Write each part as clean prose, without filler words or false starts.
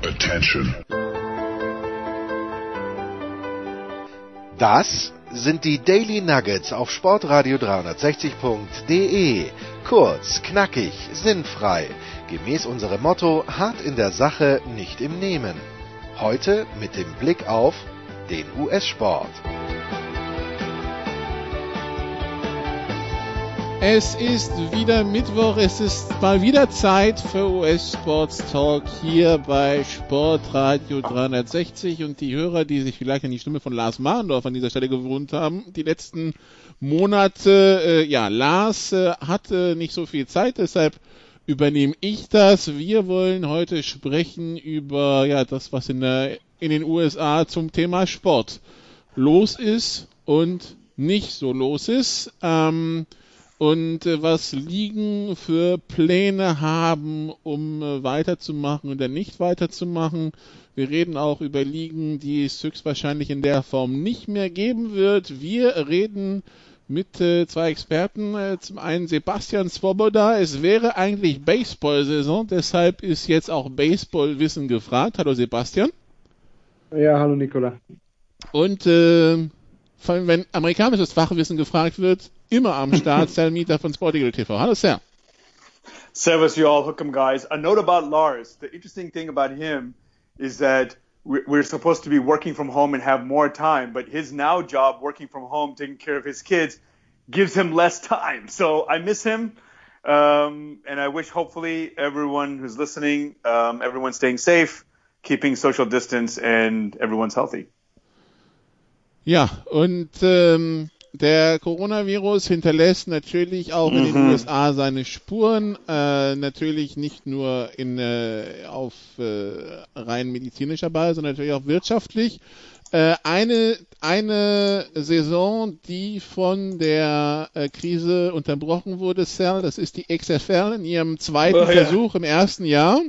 Attention. Das sind die Daily Nuggets auf Sportradio 360.de. Kurz, knackig, sinnfrei. Gemäß unserem Motto: hart in der Sache, nicht im Nehmen. Heute mit dem Blick auf den US-Sport. Es ist wieder Mittwoch, es ist mal wieder Zeit für US-Sports Talk hier bei Sportradio 360 und die Hörer, die sich vielleicht an die Stimme von Lars Marendorf an dieser Stelle gewohnt haben, die letzten Monate, Lars hatte nicht so viel Zeit, deshalb übernehme ich das. Wir wollen heute sprechen über das, was in den USA zum Thema Sport los ist und nicht so los ist. Und was Ligen für Pläne haben, um weiterzumachen oder nicht weiterzumachen. Wir reden auch über Ligen, die es höchstwahrscheinlich in der Form nicht mehr geben wird. Wir reden mit zwei Experten. Zum einen Sebastian Svoboda. Es wäre eigentlich Baseball-Saison, deshalb ist jetzt auch Baseball-Wissen gefragt. Hallo Sebastian. Ja, hallo Nicola. Und vor allem, wenn amerikanisches Fachwissen gefragt wird, immer am Start, Sal Mieter von Sportigal TV. Hallo, Sal. Servus, you all. Hook'em, guys. A note about Lars. The interesting thing about him is that we're supposed to be working from home and have more time, but his now job, working from home, taking care of his kids, gives him less time. So I miss him, and I wish hopefully everyone who's listening, everyone's staying safe, keeping social distance, and everyone's healthy. Ja, und der Coronavirus hinterlässt natürlich auch in den USA seine Spuren, natürlich nicht nur auf rein medizinischer Basis, sondern natürlich auch wirtschaftlich. Eine Saison, die von der Krise unterbrochen wurde, Sal, das ist die XFL in ihrem zweiten Versuch im ersten Jahr.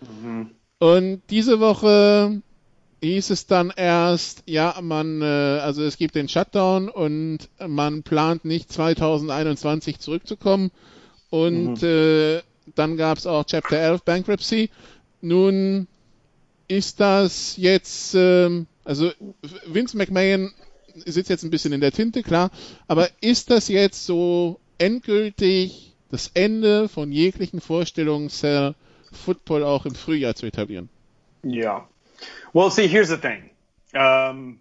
Und diese Woche hieß es dann erst, also es gibt den Shutdown und man plant nicht 2021 zurückzukommen und dann gab es auch Chapter 11 Bankruptcy. Nun ist das jetzt, also Vince McMahon sitzt jetzt ein bisschen in der Tinte, klar, aber ist das jetzt so endgültig das Ende von jeglichen Vorstellungen, Football auch im Frühjahr zu etablieren? Ja. Well, see, here's the thing. One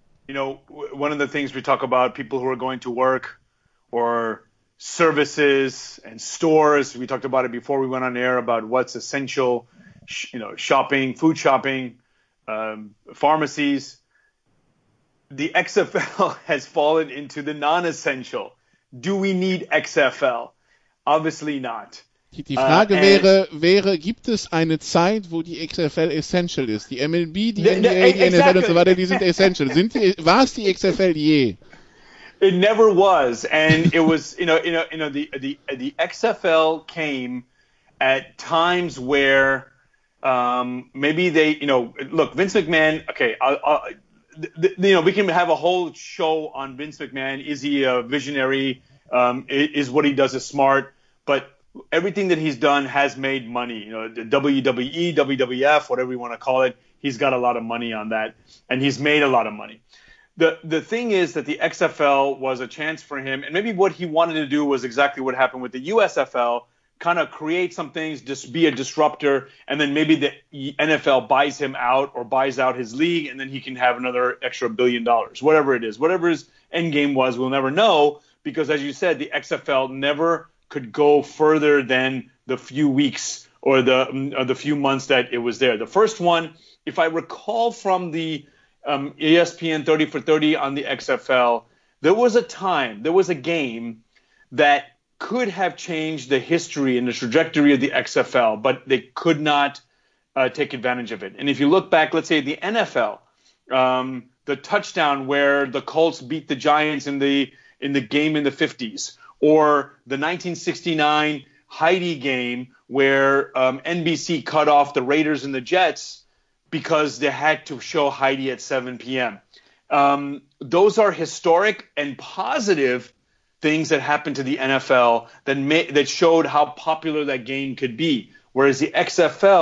of the things we talk about, people who are going to work or services and stores. We talked about it before we went on air about what's essential, shopping, food shopping, pharmacies. The XFL has fallen into the non-essential. Do we need XFL? Obviously not. Die Frage wäre, gibt es eine Zeit, wo die XFL essential ist? Die MLB, die NBA, die NFL und so weiter, die sind essential. War es die XFL je? It never was, and it was, the XFL came at times where maybe they, look, Vince McMahon. Okay, we can have a whole show on Vince McMahon. Is he a visionary? Is what he does is smart? But everything that he's done has made money. The WWE, WWF, whatever you want to call it, he's got a lot of money on that, and he's made a lot of money. The thing is that the XFL was a chance for him, and maybe what he wanted to do was exactly what happened with the USFL, kind of create some things, just be a disruptor, and then maybe the NFL buys him out or buys out his league, and then he can have another extra $1 billion, whatever it is. Whatever his end game was, we'll never know, because as you said, the XFL never could go further than the few weeks or the few months that it was there. The first one, if I recall from the ESPN 30 for 30 on the XFL, there was a game that could have changed the history and the trajectory of the XFL, but they could not take advantage of it. And if you look back, let's say the NFL, the touchdown where the Colts beat the Giants in the game in the 50s, or the 1969 Heidi game where NBC cut off the Raiders and the Jets because they had to show Heidi at 7 p.m. Those are historic and positive things that happened to the NFL that showed how popular that game could be. Whereas the XFL,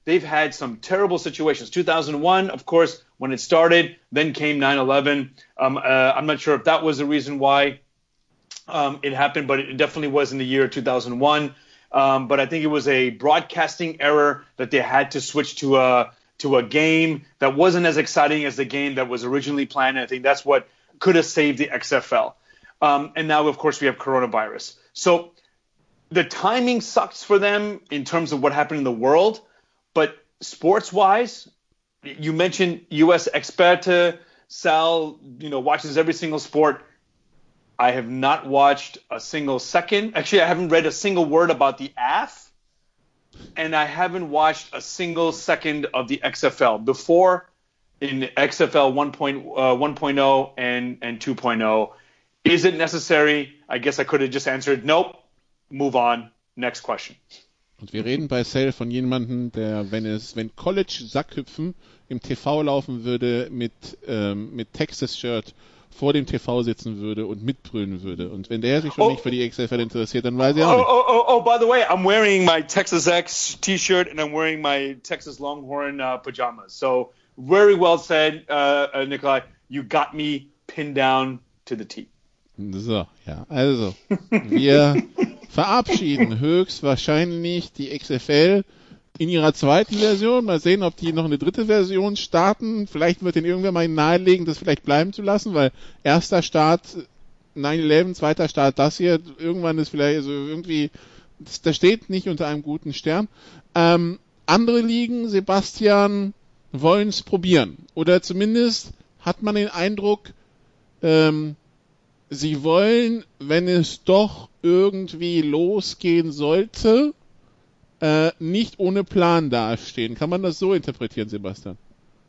they've had some terrible situations. 2001, of course, when it started, then came 9/11. I'm not sure if that was the reason why it happened, but it definitely was in the year 2001. But I think it was a broadcasting error that they had to switch to a game that wasn't as exciting as the game that was originally planned. And I think that's what could have saved the XFL. And now, of course, we have coronavirus. So the timing sucks for them in terms of what happened in the world. But sports-wise, you mentioned U.S. Experte. Sal, watches every single sport. I have not watched a single second. Actually, I haven't read a single word about the AF. And I haven't watched a single second of the XFL. Before, in XFL 1.0 and 2.0, is it necessary? I guess I could have just answered, nope, move on, next question. Und wir reden bei Sale von jemandem, der, wenn College-Sackhüpfen im TV laufen würde, mit Texas-Shirt vor dem TV sitzen würde und mitbrüllen würde. Und wenn der sich schon nicht für die XFL interessiert, dann weiß er auch nicht. Oh, by the way, I'm wearing my Texas X T-shirt and I'm wearing my Texas Longhorn pajamas. So, very well said, Nikolai. You got me pinned down to the T. So, ja, also, wir verabschieden höchstwahrscheinlich die XFL in ihrer zweiten Version. Mal sehen, ob die noch eine dritte Version starten. Vielleicht wird den irgendwer mal nahelegen, das vielleicht bleiben zu lassen, weil erster Start 9/11, zweiter Start das hier. Irgendwann ist vielleicht, also irgendwie, das steht nicht unter einem guten Stern. Andere Ligen, Sebastian, wollen es probieren. Oder zumindest hat man den Eindruck, sie wollen, wenn es doch irgendwie losgehen sollte, nicht ohne Plan dastehen. Kann man das so interpretieren, Sebastian?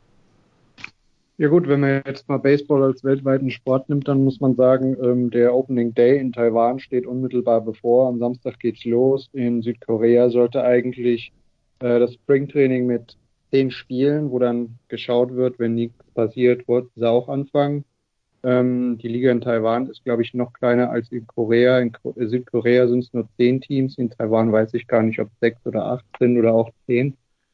Ja gut, wenn man jetzt mal Baseball als weltweiten Sport nimmt, dann muss man sagen, der Opening Day in Taiwan steht unmittelbar bevor. Am Samstag geht's los. In Südkorea sollte eigentlich das Springtraining mit 10 Spielen, wo dann geschaut wird, wenn nichts passiert, wird es auch anfangen. Die Liga in Taiwan ist, glaube ich, noch kleiner als in Korea. In Südkorea sind es nur 10 Teams. In Taiwan weiß ich gar nicht, ob 6 oder 8 sind oder auch 10.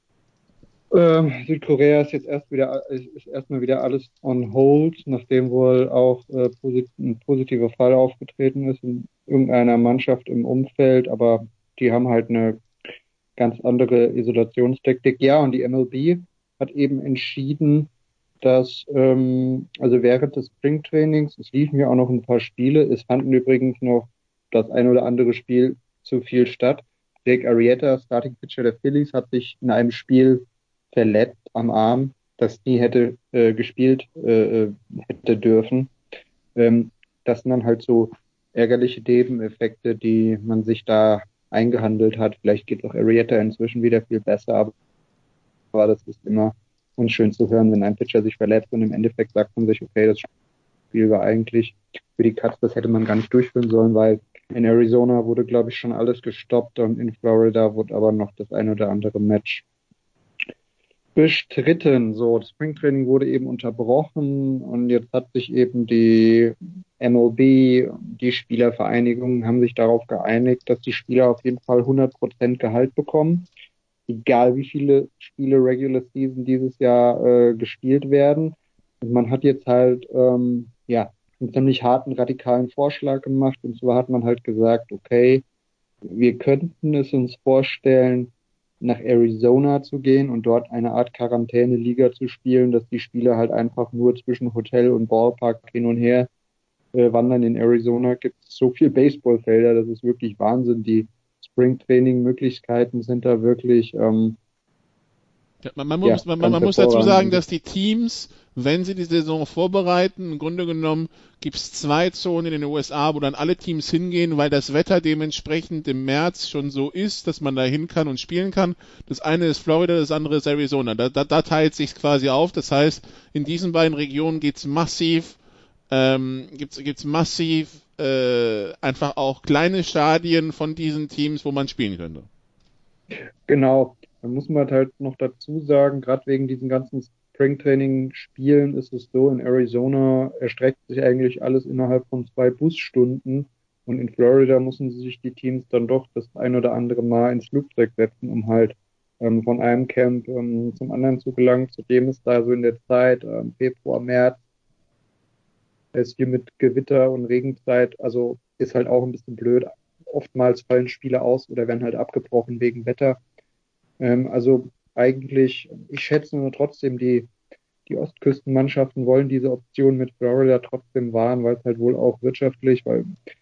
Südkorea ist jetzt erstmal wieder alles on hold, nachdem wohl auch ein positiver Fall aufgetreten ist in irgendeiner Mannschaft im Umfeld. Aber die haben halt eine ganz andere Isolationstaktik. Ja, und die MLB hat eben entschieden, dass also während des Springtrainings, es liefen ja auch noch ein paar Spiele, es fanden übrigens noch das ein oder andere Spiel zu viel statt. Jake Arrieta, Starting Pitcher der Phillies, hat sich in einem Spiel verletzt am Arm, das nie hätte gespielt hätte dürfen. Das sind dann halt so ärgerliche Nebeneffekte, die man sich da eingehandelt hat. Vielleicht geht auch Arrieta inzwischen wieder viel besser, aber das ist immer unschön zu hören, wenn ein Pitcher sich verletzt und im Endeffekt sagt man sich, okay, das Spiel war eigentlich für die Cubs, das hätte man gar nicht durchführen sollen, weil in Arizona wurde, glaube ich, schon alles gestoppt und in Florida wurde aber noch das ein oder andere Match bestritten. So, das Springtraining wurde eben unterbrochen und jetzt hat sich eben die MLB, die Spielervereinigungen haben sich darauf geeinigt, dass die Spieler auf jeden Fall 100% Gehalt bekommen. Egal wie viele Spiele Regular Season dieses Jahr gespielt werden. Und man hat jetzt halt einen ziemlich harten, radikalen Vorschlag gemacht. Und zwar hat man halt gesagt, okay, wir könnten es uns vorstellen, nach Arizona zu gehen und dort eine Art Quarantäne-Liga zu spielen, dass die Spieler halt einfach nur zwischen Hotel und Ballpark hin und her wandern. In Arizona gibt es so viel Baseballfelder, das ist wirklich Wahnsinn. Die Springtraining-Möglichkeiten sind da wirklich man muss dazu sagen, dass die Teams, wenn sie die Saison vorbereiten, im Grunde genommen gibt es 2 Zonen in den USA, wo dann alle Teams hingehen, weil das Wetter dementsprechend im März schon so ist, dass man da hin kann und spielen kann. Das eine ist Florida, das andere ist Arizona. Da teilt sich quasi auf. Das heißt, in diesen beiden Regionen gibt's massiv einfach auch kleine Stadien von diesen Teams, wo man spielen könnte. Genau. Da muss man halt noch dazu sagen, gerade wegen diesen ganzen Springtraining-Spielen ist es so, in Arizona erstreckt sich eigentlich alles innerhalb von 2 Busstunden und in Florida müssen sich die Teams dann doch das ein oder andere Mal ins Flugzeug setzen, um halt von einem Camp zum anderen zu gelangen. Zudem ist da so in der Zeit, Februar, März, ist hier mit Gewitter und Regenzeit, also ist halt auch ein bisschen blöd. Oftmals fallen Spiele aus oder werden halt abgebrochen wegen Wetter. Also eigentlich, ich schätze nur trotzdem, die Ostküstenmannschaften wollen diese Option mit Florida trotzdem wahren, weil es halt wohl auch wirtschaftlich, weil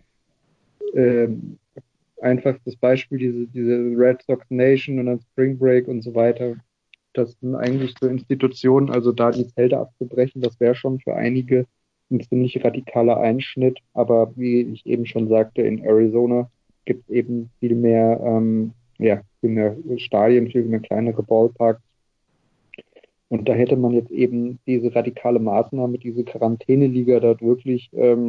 einfachstes Beispiel, diese Red Sox Nation und dann Spring Break und so weiter, das sind eigentlich so Institutionen, also da die Zelte abzubrechen, das wäre schon für einige ein ziemlich radikaler Einschnitt, aber wie ich eben schon sagte, in Arizona gibt es eben viel mehr Stadien, viel mehr kleinere Ballparks. Und da hätte man jetzt eben diese radikale Maßnahme, diese Quarantäneliga dort wirklich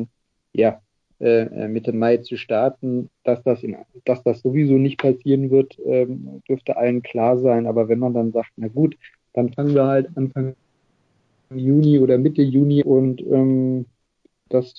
Mitte Mai zu starten, dass das sowieso nicht passieren wird, dürfte allen klar sein. Aber wenn man dann sagt, na gut, dann fangen wir halt Anfang Juni oder Mitte Juni und das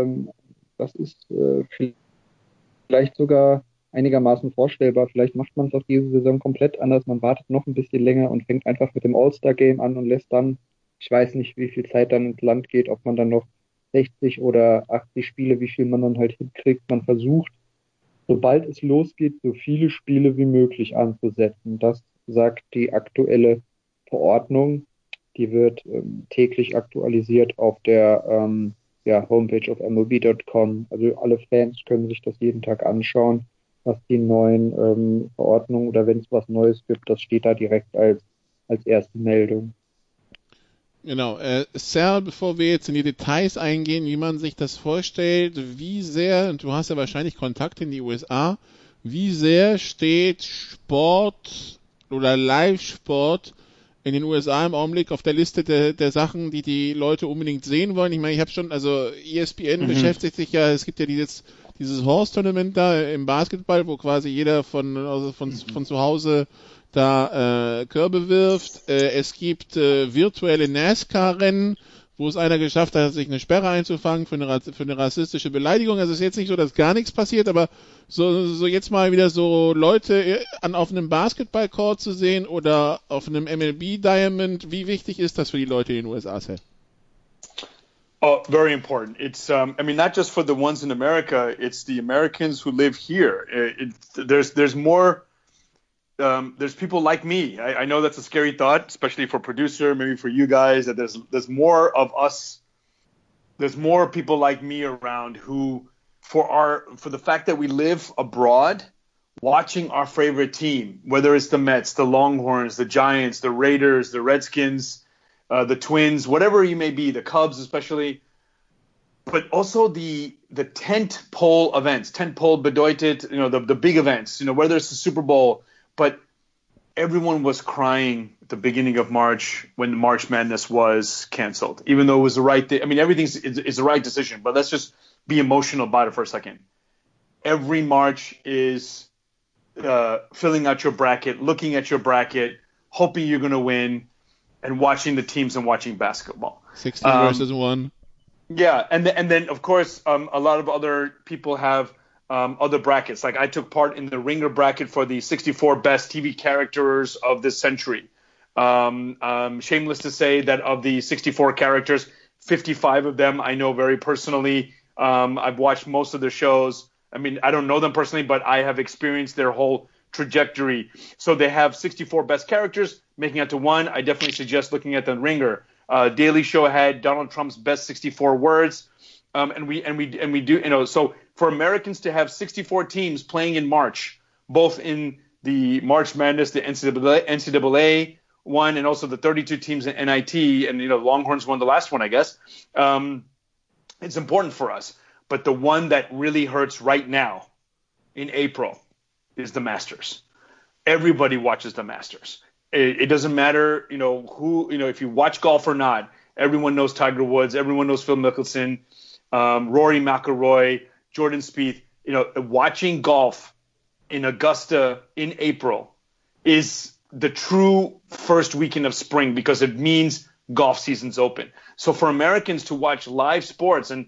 ist vielleicht sogar einigermaßen vorstellbar. Vielleicht macht man es auch diese Saison komplett anders. Man wartet noch ein bisschen länger und fängt einfach mit dem All-Star-Game an und lässt dann, ich weiß nicht, wie viel Zeit dann ins Land geht, ob man dann noch 60 oder 80 Spiele, wie viel man dann halt hinkriegt. Man versucht, sobald es losgeht, so viele Spiele wie möglich anzusetzen. Das sagt die aktuelle Verordnung. Die wird täglich aktualisiert auf der Homepage auf MLB.com. Also alle Fans können sich das jeden Tag anschauen, was die neuen Verordnungen oder wenn es was Neues gibt, das steht da direkt als erste Meldung. Genau. Sal, bevor wir jetzt in die Details eingehen, wie man sich das vorstellt, wie sehr, und du hast ja wahrscheinlich Kontakt in die USA, wie sehr steht Sport oder Live-Sport in den USA im Augenblick auf der Liste der Sachen, die Leute unbedingt sehen wollen? Ich meine, ich habe schon, also ESPN beschäftigt sich ja, es gibt ja dieses Horse-Tournament da im Basketball, wo quasi jeder von zu Hause da Körbe wirft. Es gibt virtuelle NASCAR-Rennen, wo es einer geschafft hat, sich eine Sperre einzufangen für eine rassistische Beleidigung. Also es ist jetzt nicht so, dass gar nichts passiert, aber so jetzt mal wieder so Leute auf einem Basketball-Court zu sehen oder auf einem MLB-Diamond, wie wichtig ist das für die Leute in den USA? Oh, very important. It's, not just for the ones in America, it's the Americans who live here. There's more, there's people like me. I know that's a scary thought, especially for producer, maybe for you guys, that there's more of us. There's more people like me around who, for the fact that we live abroad, watching our favorite team, whether it's the Mets, the Longhorns, the Giants, the Raiders, the Redskins, the Twins, whatever you may be, the Cubs especially, but also the tent pole events. Tent pole bedeutet, the big events, whether it's the Super Bowl, but everyone was crying at the beginning of March when the March Madness was canceled, even though it was the right thing. I mean, everything is the right decision, but let's just be emotional about it for a second. Every March is filling out your bracket, looking at your bracket, hoping you're going to win, and watching the teams and watching basketball. 16 versus 1. Yeah, and then of course a lot of other people have other brackets. Like I took part in the Ringer bracket for the 64 best TV characters of this century. Shameless to say that of the 64 characters, 55 of them I know very personally. I've watched most of their shows. I mean, I don't know them personally, but I have experienced their whole trajectory. So they have 64 best characters making it to one. I definitely suggest looking at the Ringer. Daily Show had Donald Trump's best 64 words. And we do, so for Americans to have 64 teams playing in March, both in the March Madness, the NCAA one, and also the 32 teams in NIT, and, Longhorns won the last one, I guess. It's important for us. But the one that really hurts right now in April is the Masters. Everybody watches the Masters. It doesn't matter, who, if you watch golf or not. Everyone knows Tiger Woods. Everyone knows Phil Mickelson, Rory McIlroy, Jordan Spieth. Watching golf in Augusta in April is the true first weekend of spring because it means golf season's open. So for Americans to watch live sports and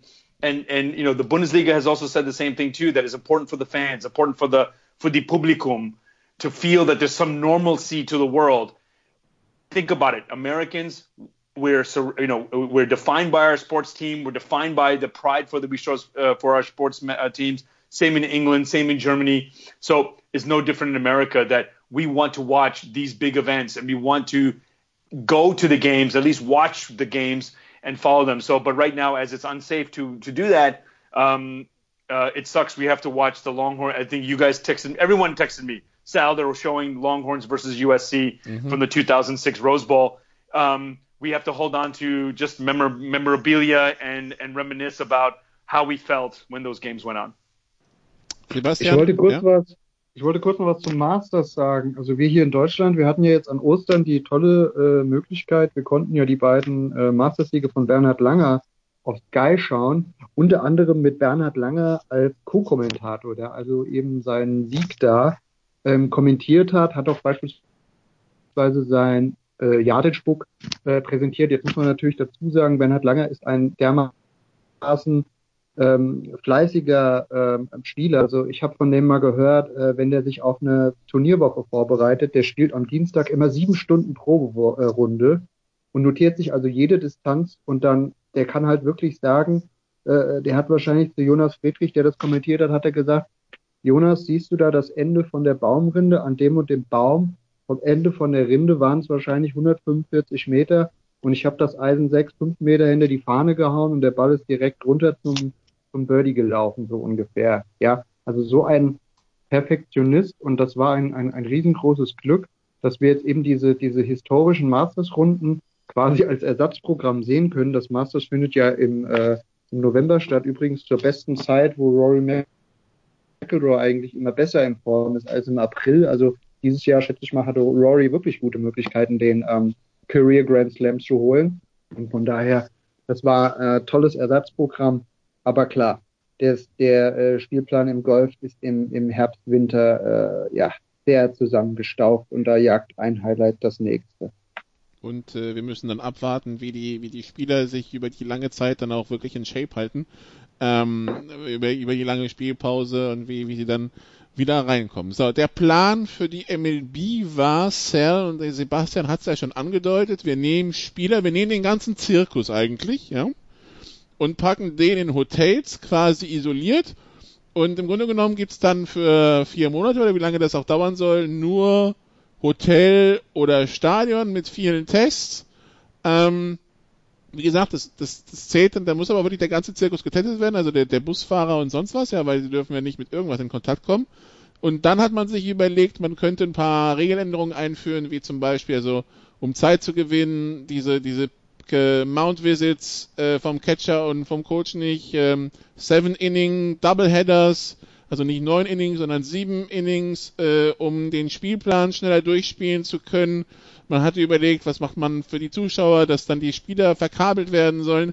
the Bundesliga has also said the same thing too, that is important for the fans, important for the publicum. to feel that there's some normalcy to the world. Think about it. Americans, we're defined by our sports team. We're defined by the pride that we show for our sports teams. Same in England, same in Germany. So it's no different in America that we want to watch these big events and we want to go to the games, at least watch the games and follow them. So, but right now, as it's unsafe to do that, it sucks. We have to watch the Longhorn. I think you guys everyone texted me. Sal, they were showing Longhorns versus USC from the 2006 Rose Bowl. We have to hold on to just memorabilia and reminisce about how we felt when those games went on. Sebastian? Ich wollte kurz noch was zum Masters sagen. Also wir hier in Deutschland, wir hatten ja jetzt an Ostern die tolle Möglichkeit, wir konnten ja die beiden Masters-Siege von Bernhard Langer auf Sky schauen, unter anderem mit Bernhard Langer als Co-Kommentator, der also eben seinen Sieg da kommentiert hat auch beispielsweise sein Yardage-Book präsentiert. Jetzt muss man natürlich dazu sagen, Bernhard Langer ist ein dermaßen fleißiger Spieler. Also ich habe von dem mal gehört, wenn der sich auf eine Turnierwoche vorbereitet, der spielt am Dienstag immer 7 Stunden Proberunde und notiert sich also jede Distanz und dann, der kann halt wirklich sagen, der hat wahrscheinlich zu Jonas Friedrich, der das kommentiert hat er gesagt, Jonas, siehst du da das Ende von der Baumrinde an dem und dem Baum? Vom Ende von der Rinde waren es wahrscheinlich 145 Meter und ich habe das Eisen 5 Meter hinter die Fahne gehauen und der Ball ist direkt runter zum Birdie gelaufen, so ungefähr. Ja, also so ein Perfektionist und das war ein riesengroßes Glück, dass wir jetzt eben diese historischen Masters-Runden quasi als Ersatzprogramm sehen können. Das Masters findet ja im November statt, übrigens zur besten Zeit, wo Rory McIlroy eigentlich immer besser in Form ist als im April. Also dieses Jahr, schätze ich mal, hatte Rory wirklich gute Möglichkeiten, den Career Grand Slam zu holen. Und von daher, das war ein tolles Ersatzprogramm. Aber klar, der Spielplan im Golf ist im Herbst, Winter sehr zusammengestaucht und da jagt ein Highlight das nächste. Und wir müssen dann abwarten, wie die Spieler sich über die lange Zeit dann auch wirklich in Shape halten, über die lange Spielpause und wie sie dann wieder reinkommen. So, der Plan für die MLB war, Sal und Sebastian hat es ja schon angedeutet, wir nehmen Spieler, wir nehmen den ganzen Zirkus eigentlich, ja, und packen den in Hotels quasi isoliert und im Grunde genommen gibt's dann für 4 Monate oder wie lange das auch dauern soll, nur Hotel oder Stadion mit vielen Tests. Wie gesagt, das zählt dann, da muss aber wirklich der ganze Zirkus getestet werden, also der Busfahrer und sonst was, ja, weil sie dürfen ja nicht mit irgendwas in Kontakt kommen. Und dann hat man sich überlegt, man könnte ein paar Regeländerungen einführen, wie zum Beispiel, also um Zeit zu gewinnen, diese Mount Visits vom Catcher und vom Coach nicht, 7 Inning Doubleheaders, also nicht 9 Innings, sondern 7 Innings, um den Spielplan schneller durchspielen zu können. Man hatte überlegt, was macht man für die Zuschauer, dass dann die Spieler verkabelt werden sollen.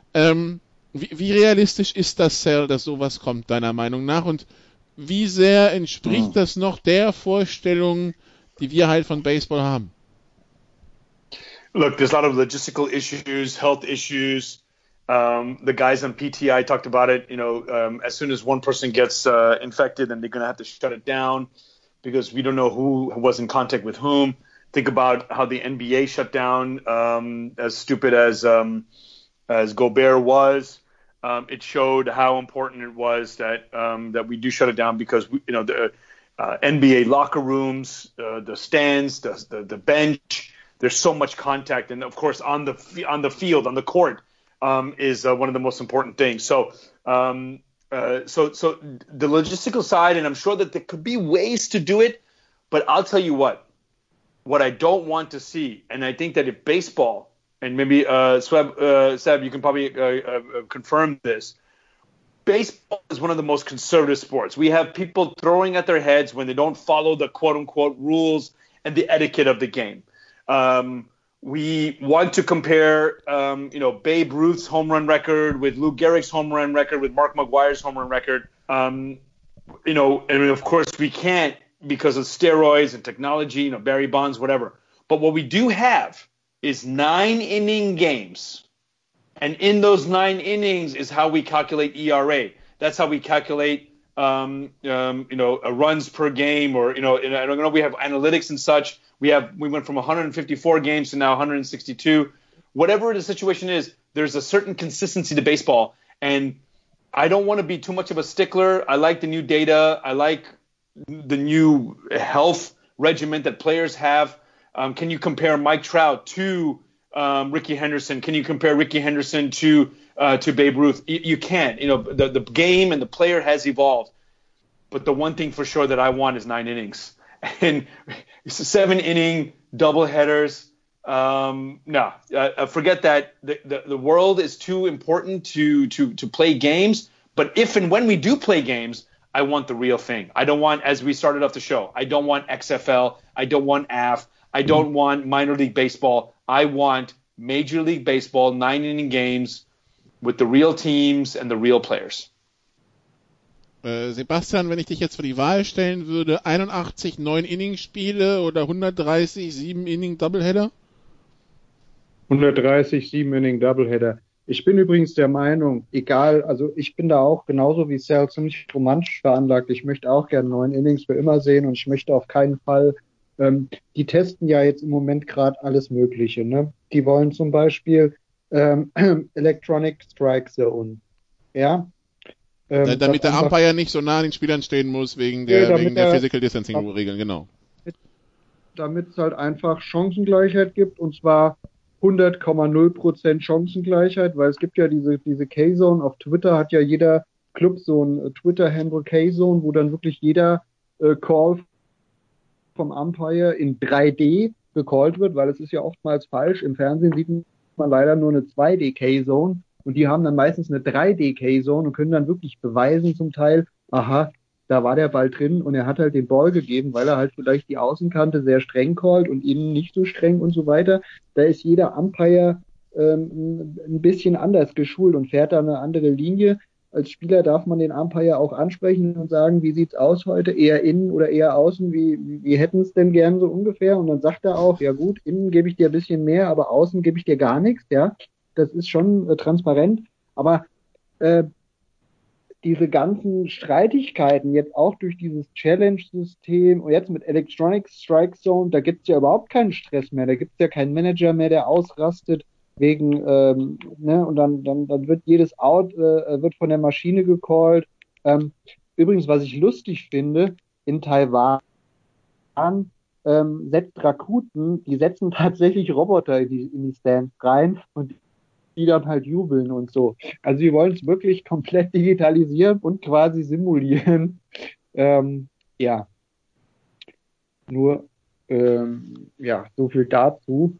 Wie realistisch ist das, Sal, dass sowas kommt, deiner Meinung nach? Und wie sehr entspricht das noch der Vorstellung, die wir halt von Baseball haben? Look, there's a lot of logistical issues, health issues. The guys on PTI talked about it. As soon as one person gets infected, then they're going to have to shut it down because we don't know who was in contact with whom. Think about how the NBA shut down. As stupid as Gobert was, it showed how important it was that we do shut it down because the NBA locker rooms, the stands, the bench. There's so much contact, and of course on the field, on the court, is one of the most important things. So the logistical side, and I'm sure that there could be ways to do it, but I'll tell you what I don't want to see, and I think that if baseball, and maybe Seb, you can probably confirm this, baseball is one of the most conservative sports. We have people throwing at their heads when they don't follow the quote-unquote rules and the etiquette of the game. We want to compare, Babe Ruth's home run record with Lou Gehrig's home run record with Mark McGwire's home run record. And of course we can't because of steroids and technology, Barry Bonds, whatever. But what we do have is 9-inning games. And in those 9 innings is how we calculate ERA. That's how we calculate runs per game, or, I don't know, we have analytics and such. We went from 154 games to now 162. Whatever the situation is, there's a certain consistency to baseball. And I don't want to be too much of a stickler. I like the new data. I like the new health regimen that players have. Can you compare Mike Trout to Ricky Henderson? Can you compare Ricky Henderson to Babe Ruth? You can't. The game and the player has evolved. But the one thing for sure that I want is 9 innings. And 7-inning doubleheaders. Forget that. The world is too important to play games. But if and when we do play games, I want the real thing. I don't want, as we started off the show, I don't want XFL. I don't want AF. I don't want minor league baseball. I want Major League Baseball 9-inning games with the real teams and the real players. Sebastian, wenn ich dich jetzt vor die Wahl stellen würde, 81 9-Inning-Spiele oder 130 7-Inning-Doubleheader? 130 7-Inning-Doubleheader. Ich bin übrigens der Meinung, egal, also ich bin da auch genauso wie Sal ziemlich romantisch veranlagt. Ich möchte auch gerne 9 Innings für immer sehen und ich möchte auf keinen Fall, die testen ja jetzt im Moment gerade alles Mögliche, ne? Die wollen zum Beispiel Electronic Strike Zone, ja? Damit der Umpire nicht so nah an den Spielern stehen muss, wegen der Physical Distancing Regeln, genau. Damit es halt einfach Chancengleichheit gibt, und zwar 100,0% Chancengleichheit, weil es gibt ja diese K-Zone. Auf Twitter hat ja jeder Club so ein Twitter-Handle K-Zone, wo dann wirklich jeder Call vom Umpire in 3D gecallt wird, weil es ist ja oftmals falsch. Im Fernsehen sieht man leider nur eine 2D K-Zone und die haben dann meistens eine 3D K-Zone und können dann wirklich beweisen zum Teil, aha, da war der Ball drin und er hat halt den Ball gegeben, weil er halt vielleicht die Außenkante sehr streng callt und innen nicht so streng und so weiter. Da ist jeder Umpire ein bisschen anders geschult und fährt da eine andere Linie. Als Spieler darf man den Umpire auch ansprechen und sagen, wie sieht's aus heute? Eher innen oder eher außen? Wie hätten es denn gern so ungefähr? Und dann sagt er auch, ja gut, innen gebe ich dir ein bisschen mehr, aber außen gebe ich dir gar nichts. Ja, das ist schon transparent. Aber diese ganzen Streitigkeiten jetzt auch durch dieses Challenge-System und jetzt mit Electronic Strike Zone, da gibt's ja überhaupt keinen Stress mehr. Da gibt's ja keinen Manager mehr, der ausrastet wegen, und dann wird jedes Out wird von der Maschine gecallt. Übrigens, was ich lustig finde, in Taiwan setzt Rakuten, die setzen tatsächlich Roboter in die Stands rein und die dann halt jubeln und so. Also sie wollen es wirklich komplett digitalisieren und quasi simulieren. Ja. Nur, so viel dazu.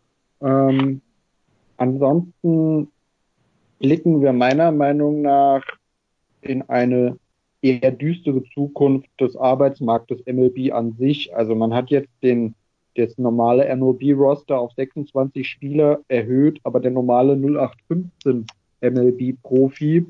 Ansonsten blicken wir meiner Meinung nach in eine eher düstere Zukunft des Arbeitsmarktes MLB an sich. Also man hat jetzt das normale MLB-Roster auf 26 Spieler erhöht, aber der normale 0815 MLB-Profi.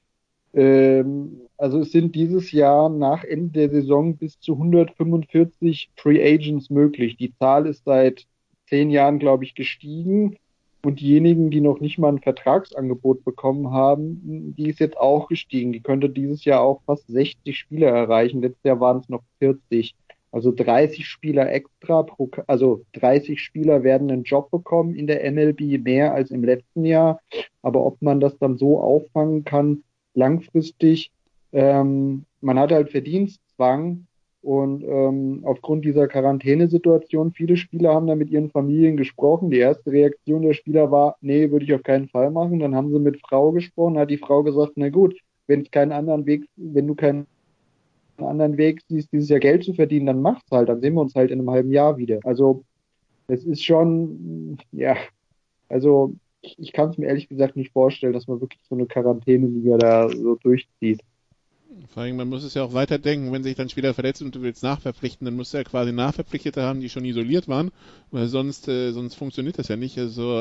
Also es sind dieses Jahr nach Ende der Saison bis zu 145 Free Agents möglich. Die Zahl ist seit 10 Jahren, glaube ich, gestiegen. Und diejenigen, die noch nicht mal ein Vertragsangebot bekommen haben, die ist jetzt auch gestiegen. Die könnte dieses Jahr auch fast 60 Spieler erreichen. Letztes Jahr waren es noch 40. Also 30 Spieler extra, also 30 Spieler werden einen Job bekommen in der MLB, mehr als im letzten Jahr. Aber ob man das dann so auffangen kann, langfristig, man hat halt Verdienstzwang und aufgrund dieser Quarantänesituation, viele Spieler haben da mit ihren Familien gesprochen. Die erste Reaktion der Spieler war, nee, würde ich auf keinen Fall machen. Dann haben sie mit Frau gesprochen, hat die Frau gesagt, na gut, wenn du keinen anderen Weg siehst, dieses Jahr Geld zu verdienen, dann mach's halt, dann sehen wir uns halt in einem halben Jahr wieder. Also es ist schon, also ich kann es mir ehrlich gesagt nicht vorstellen, dass man wirklich so eine Quarantäneliga da so durchzieht. Vor allem, man muss es ja auch weiterdenken, wenn sich dann Spieler verletzt und du willst nachverpflichten, dann musst du ja quasi Nachverpflichtete haben, die schon isoliert waren, weil sonst funktioniert das ja nicht. Also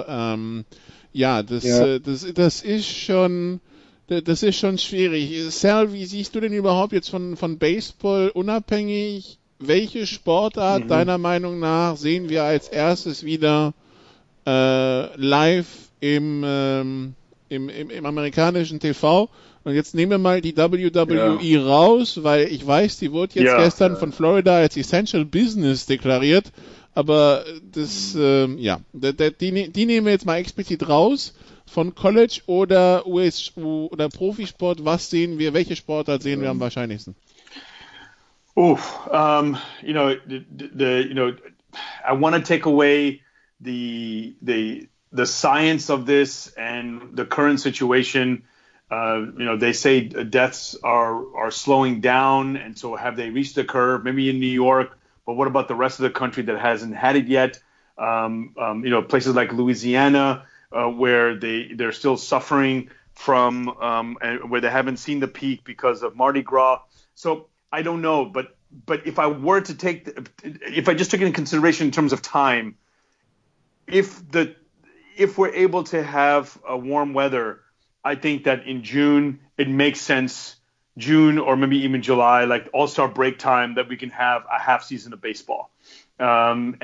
das ist schon schwierig. Sal, wie siehst du denn überhaupt jetzt von Baseball unabhängig, welche Sportart deiner Meinung nach sehen wir als erstes wieder live im im amerikanischen TV. Und jetzt nehmen wir mal die WWE raus, weil ich weiß, die wurde jetzt gestern von Florida als Essential Business deklariert. Aber das, die nehmen wir jetzt mal explizit raus. Von College oder oder Profisport, was sehen wir, welche Sportart sehen wir am wahrscheinlichsten? I want to take away the science of this and the current situation. They say deaths are slowing down, and so have they reached the curve? Maybe in New York, but what about the rest of the country that hasn't had it yet? Places like Louisiana, where they're still suffering from, and where they haven't seen the peak because of Mardi Gras. So I don't know, but if I were to if I just took it in consideration in terms of time, if we're able to have warm weather, I think that in June it makes sense. June or maybe even July, like All-Star break time, that we can have a half season of baseball, and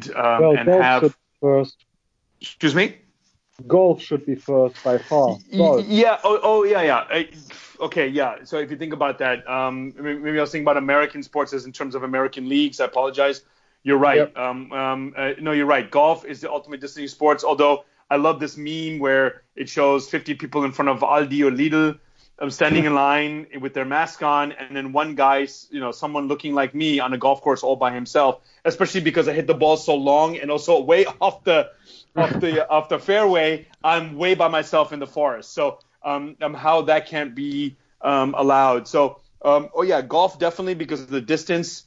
have first. Excuse me. Golf should be first by far. Golf. Yeah. Yeah. Okay. Yeah. So if you think about that, maybe I was thinking about American sports as in terms of American leagues. I apologize. You're right. Yep. No, you're right. Golf is the ultimate Disney sports. Although I love this meme where it shows 50 people in front of Aldi or Lidl, standing in line with their mask on, and then one guy, someone looking like me on a golf course all by himself. Especially because I hit the ball so long and also way off the fairway, I'm way by myself in the forest. So how that can't be allowed. So golf definitely because of the distance,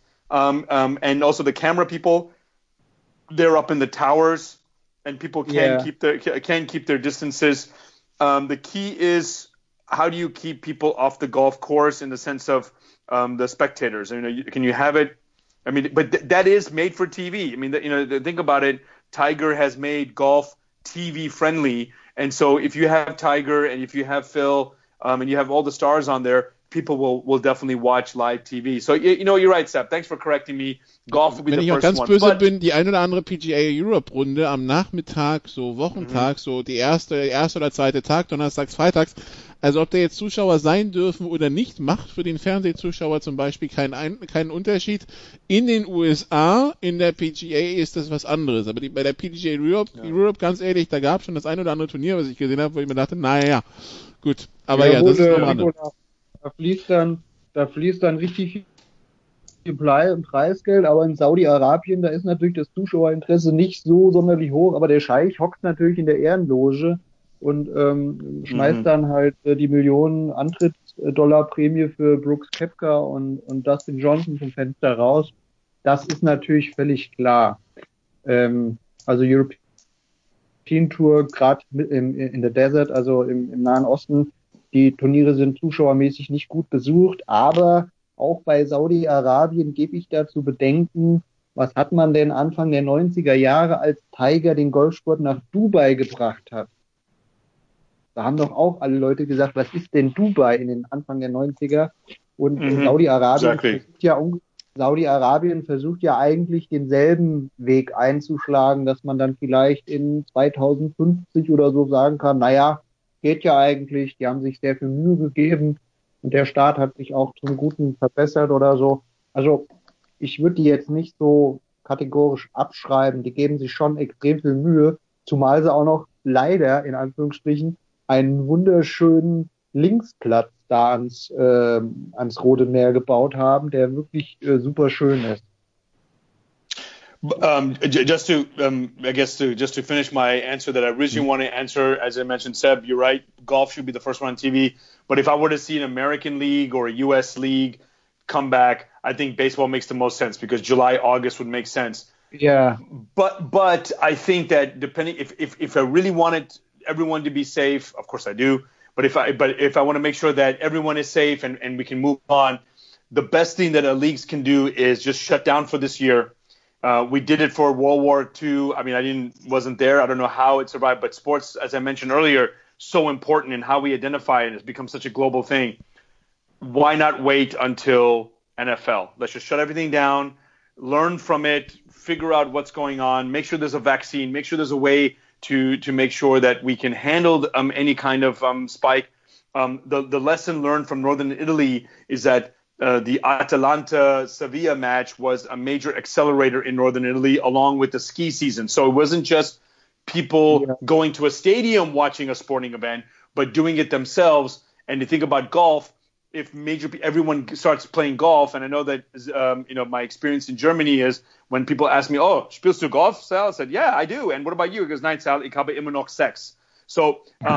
and also the camera people. They're up in the towers, and people can keep their distances. The key is, how do you keep people off the golf course in the sense of the spectators? Can you have it? I mean, but that is made for TV. I mean, think about it. Tiger has made golf TV friendly, and so if you have Tiger and if you have Phil, and you have all the stars on there, people will definitely watch live TV. So you're right, Sepp. Thanks for correcting me. Golf will be the first one. Wenn ich auch ganz böse bin, die ein oder andere PGA Europe Runde am Nachmittag, so Wochentag, so die erste oder zweite Tag, donnerstags, freitags. Also ob da jetzt Zuschauer sein dürfen oder nicht, macht für den Fernsehzuschauer zum Beispiel keinen Unterschied. In den USA, in der PGA ist das was anderes. Aber bei der PGA Europe, ganz ehrlich, da gab es schon das ein oder andere Turnier, was ich gesehen habe, wo ich mir dachte, naja, gut. Aber das ist noch anders. Da fließt dann richtig viel Preisgeld, aber in Saudi-Arabien, da ist natürlich das Zuschauerinteresse nicht so sonderlich hoch, aber der Scheich hockt natürlich in der Ehrenloge und schmeißt dann halt die Millionen Antrittsdollar-Prämie für Brooks Koepka und Dustin Johnson vom Fenster raus. Das ist natürlich völlig klar. Also European Tour, gerade in der Desert, also im Nahen Osten, die Turniere sind zuschauermäßig nicht gut besucht, aber auch bei Saudi-Arabien gebe ich da zu bedenken, was hat man denn Anfang der 90er Jahre, als Tiger den Golfsport nach Dubai gebracht hat? Da haben doch auch alle Leute gesagt, was ist denn Dubai in den Anfang der 90er? Und Saudi-Arabien versucht ja eigentlich denselben Weg einzuschlagen, dass man dann vielleicht in 2050 oder so sagen kann, naja, geht ja eigentlich, die haben sich sehr viel Mühe gegeben und der Staat hat sich auch zum Guten verbessert oder so. Also ich würde die jetzt nicht so kategorisch abschreiben, die geben sich schon extrem viel Mühe, zumal sie auch noch leider, in Anführungsstrichen, einen wunderschönen Linksplatz da ans Rote Meer gebaut haben, der wirklich super schön ist. Just to finish my answer that I originally want to answer, as I mentioned, Seb, you're right. Golf should be the first one on TV. But if I were to see an American league or a U.S. league come back, I think baseball makes the most sense because July, August would make sense. Yeah. But I think that depending if I really wanted everyone to be safe, of course I do. But if I want to make sure that everyone is safe and we can move on, the best thing that leagues can do is just shut down for this year. We did it for World War II. I mean, wasn't there. I don't know how it survived, but sports, as I mentioned earlier, so important in how we identify it. It's become such a global thing. Why not wait until NFL? Let's just shut everything down, learn from it, figure out what's going on, make sure there's a vaccine, make sure there's a way to make sure that we can handle any kind of spike. The lesson learned from Northern Italy is that the Atalanta-Sevilla match was a major accelerator in Northern Italy along with the ski season. So it wasn't just people going to a stadium watching a sporting event, but doing it themselves. And you think about golf, if everyone starts playing golf, and I know that my experience in Germany is when people ask me, "Oh, spielst du Golf, Sal?" I said, "Yeah, I do." And what about you? He goes, "Nein, Sal, ich habe immer noch Sex." So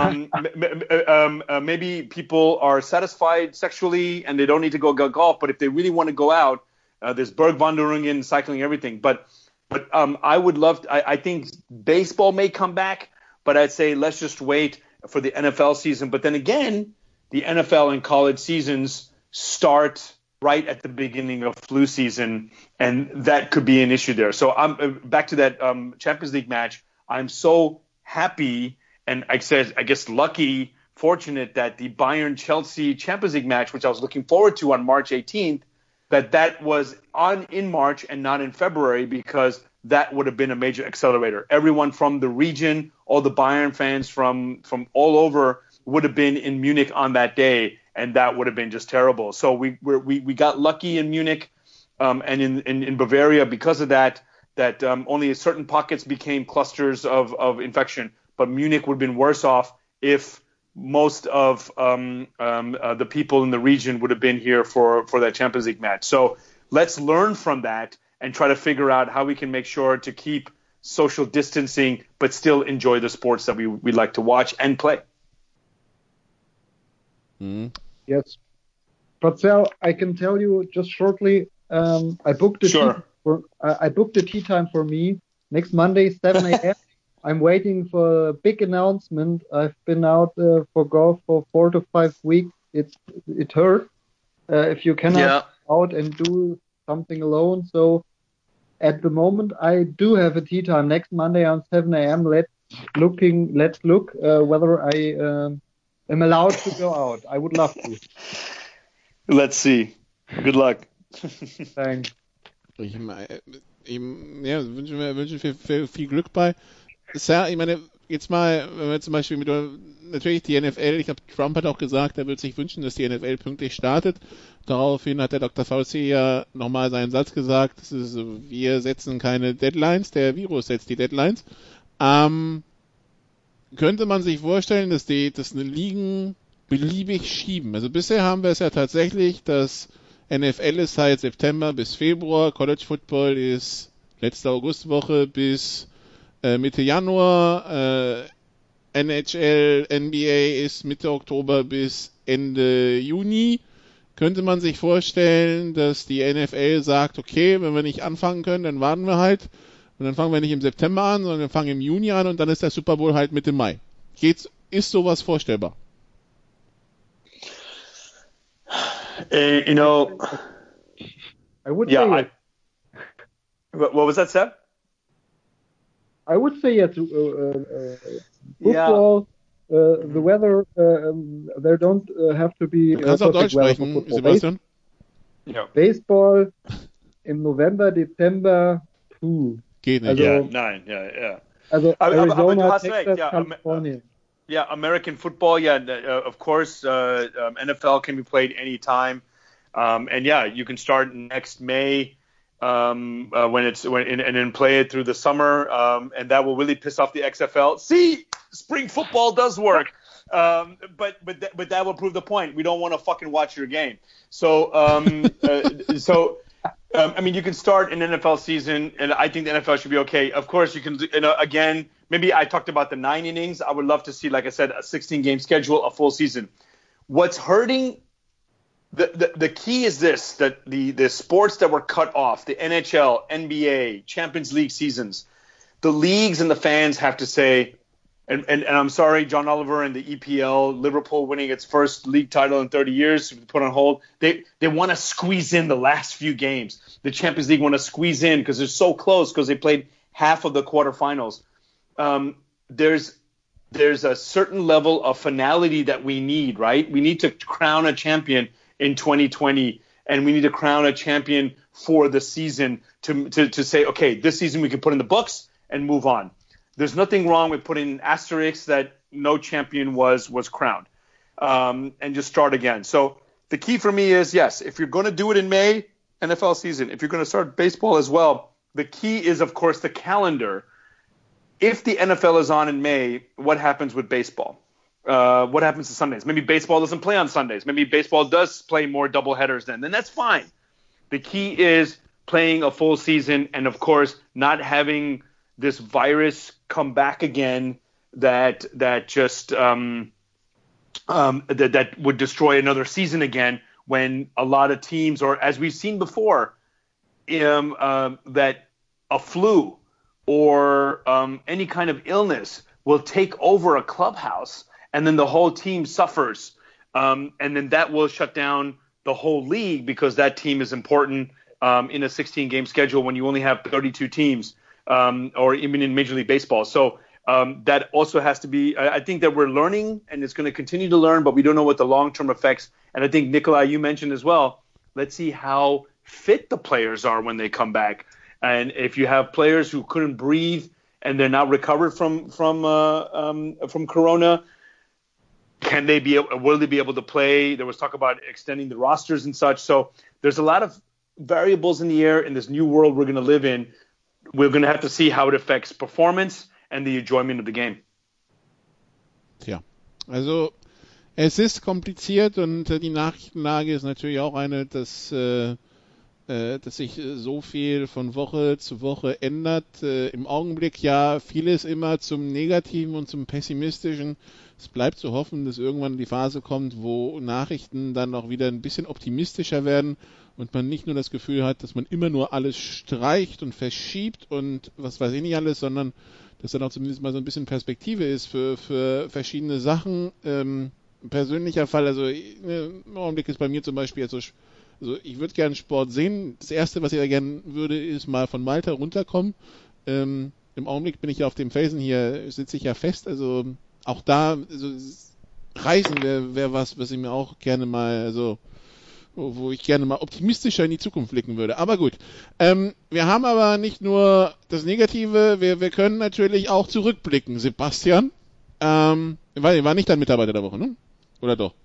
maybe people are satisfied sexually and they don't need to go golf, but if they really want to go out, there's Bergwanderungen, cycling, everything. But I would love. I think baseball may come back, but I'd say let's just wait for the NFL season. But then again, the NFL and college seasons start right at the beginning of flu season, and that could be an issue there. So I'm back to that Champions League match. I'm so happy and I guess lucky, fortunate that the Bayern-Chelsea Champions League match, which I was looking forward to on March 18th, that was in March and not in February, because that would have been a major accelerator. Everyone from the region, all the Bayern fans from all over would have been in Munich on that day, and that would have been just terrible. So we got lucky in Munich, and in Bavaria because of that only certain pockets became clusters of infection. But Munich would have been worse off if most of the people in the region would have been here for that Champions League match. So let's learn from that and try to figure out how we can make sure to keep social distancing but still enjoy the sports that we like to watch and play. Yes. But Sal, I can tell you just shortly, I booked a tea time for me next Monday, 7 a.m. I'm waiting for a big announcement. I've been out for golf for 4 to 5 weeks. It hurts if you cannot go out and do something alone. So at the moment, I do have a tea time next Monday on 7 a.m. Let's look whether I am allowed to go out. I would love to. Let's see. Good luck. Thanks. Ich wünsche viel Glück bei. Sir, ich meine, jetzt mal, wenn wir zum Beispiel natürlich die NFL, ich glaube, Trump hat auch gesagt, er würde sich wünschen, dass die NFL pünktlich startet. Daraufhin hat der Dr. Fauci ja nochmal seinen Satz gesagt, wir setzen keine Deadlines, der Virus setzt die Deadlines. Könnte man sich vorstellen, dass eine Ligen beliebig schieben? Also bisher haben wir es ja tatsächlich, dass NFL ist halt September bis Februar, College Football ist letzte Augustwoche bis Mitte Januar, NHL, NBA ist Mitte Oktober bis Ende Juni. Könnte man sich vorstellen, dass die NFL sagt, okay, wenn wir nicht anfangen können, dann warten wir halt. Und dann fangen wir nicht im September an, sondern wir fangen im Juni an und dann ist der Super Bowl halt Mitte Mai. Ist sowas vorstellbar? I would say what was that, Seb? I would say yes. Football, the weather, there don't have to be. Du kannst auch Deutsch sprechen, Sebastian. Baseball im November, Dezember, geht nicht. Also, nein. Also Arizona, aber du hast Texas, recht, California. Yeah, American football, of course, NFL can be played anytime. And you can start next May and then play it through the summer, and that will really piss off the XFL. See, spring football does work, but that will prove the point. We don't want to fucking watch your game. So I mean, you can start an NFL season, and I think the NFL should be okay. Of course, you can. Again, maybe I talked about the 9 innings. I would love to see, like I said, a 16-game schedule, a full season. What's hurting? The key is this, that the sports that were cut off, the NHL, NBA, Champions League seasons, the leagues and the fans have to say, and I'm sorry, John Oliver and the EPL, Liverpool winning its first league title in 30 years, put on hold. They want to squeeze in the last few games. The Champions League want to squeeze in because they're so close because they played half of the quarterfinals. There's a certain level of finality that we need, right? We need to crown a champion in 2020, and we need to crown a champion for the season to say, okay, this season we can put in the books and move on. there's nothing wrong with putting an asterisk that no champion was crowned, and just start again. So the key for me is, yes, if you're going to do it in May, NFL season, if you're going to start baseball as well, the key is, of course, the calendar. If the NFL is on in May, what happens with baseball? What happens to Sundays? Maybe baseball doesn't play on Sundays. Maybe baseball does play more doubleheaders then that's fine. The key is playing a full season and, of course, not having this virus come back again that just that would destroy another season again, when a lot of teams, or as we've seen before, that a flu or any kind of illness will take over a clubhouse, and then the whole team suffers, and then that will shut down the whole league, because that team is important in a 16-game schedule when you only have 32 teams, or even in Major League Baseball. So that also has to be – I think that we're learning, and it's going to continue to learn, but we don't know what the long-term effects – and I think, Nikolai, you mentioned as well, let's see how fit the players are when they come back. And if you have players who couldn't breathe and they're not recovered from Corona, will they be able to play? There was talk about extending the rosters and such. So there's a lot of variables in the air in this new world we're going to live in. We're going to have to see how it affects performance and the enjoyment of the game. Tja, also es ist kompliziert, und die Nachrichtenlage ist natürlich auch eine, dass sich so viel von Woche zu Woche ändert. Im Augenblick ja vieles immer zum Negativen und zum Pessimistischen. Es bleibt zu hoffen, dass irgendwann die Phase kommt, wo Nachrichten dann auch wieder ein bisschen optimistischer werden und man nicht nur das Gefühl hat, dass man immer nur alles streicht und verschiebt und was weiß ich nicht alles, sondern dass dann auch zumindest mal so ein bisschen Perspektive ist für verschiedene Sachen. Persönlicher Fall, also im Augenblick ist bei mir zum Beispiel jetzt so, also ich würde gerne Sport sehen. Das Erste, was ich ja gerne würde, ist mal von Malta runterkommen. Im Augenblick bin ich ja auf dem Felsen hier, sitze ich ja fest, also auch da, also Reisen wäre was ich mir auch gerne mal, also wo ich gerne mal optimistischer in die Zukunft blicken würde. Aber gut, wir haben aber nicht nur das Negative, wir können natürlich auch zurückblicken. Sebastian, war nicht dein Mitarbeiter der Woche, ne? Oder doch?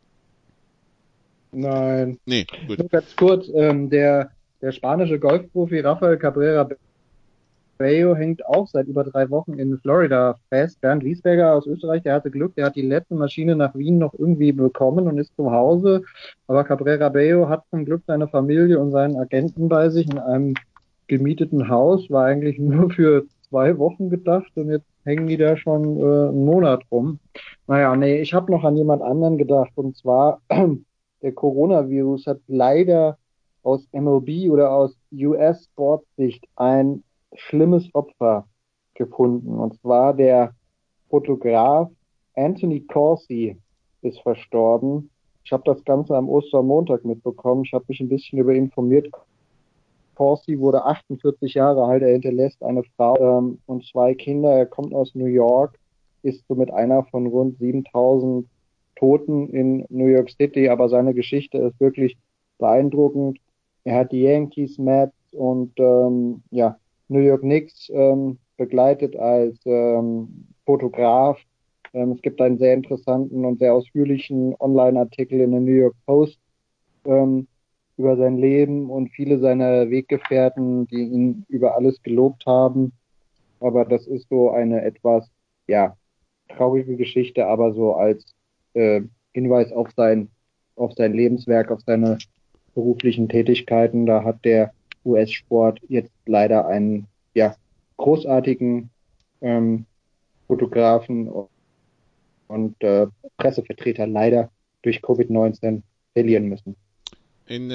Nein. Nee, gut. Nur ganz kurz, der spanische Golfprofi Rafael Cabrera Bello hängt auch seit über 3 Wochen in Florida fest. Bernd Wiesberger aus Österreich, der hatte Glück, der hat die letzte Maschine nach Wien noch irgendwie bekommen und ist zu Hause. Aber Cabrera Bello hat zum Glück seine Familie und seinen Agenten bei sich in einem gemieteten Haus, war eigentlich nur für 2 Wochen gedacht, und jetzt hängen die da schon einen Monat rum. Naja, nee, ich habe noch an jemand anderen gedacht, und zwar der Coronavirus hat leider aus MLB oder aus US-Sportsicht ein schlimmes Opfer gefunden. Und zwar der Fotograf Anthony Corsi ist verstorben. Ich habe das Ganze am Ostermontag mitbekommen. Ich habe mich ein bisschen über ihn informiert. Corsi wurde 48 Jahre alt. Er hinterlässt eine Frau und 2 Kinder. Er kommt aus New York, ist somit einer von rund 7000 Toten in New York City. Aber seine Geschichte ist wirklich beeindruckend. Er hat die Yankees, Mets und New York Knicks begleitet als Fotograf. Es gibt einen sehr interessanten und sehr ausführlichen Online-Artikel in der New York Post über sein Leben und viele seiner Weggefährten, die ihn über alles gelobt haben. Aber das ist so eine etwas, traurige Geschichte, aber so als Hinweis auf sein Lebenswerk, auf seine beruflichen Tätigkeiten. Da hat der US-Sport jetzt leider einen großartigen Fotografen und Pressevertreter leider durch Covid-19 verlieren müssen. In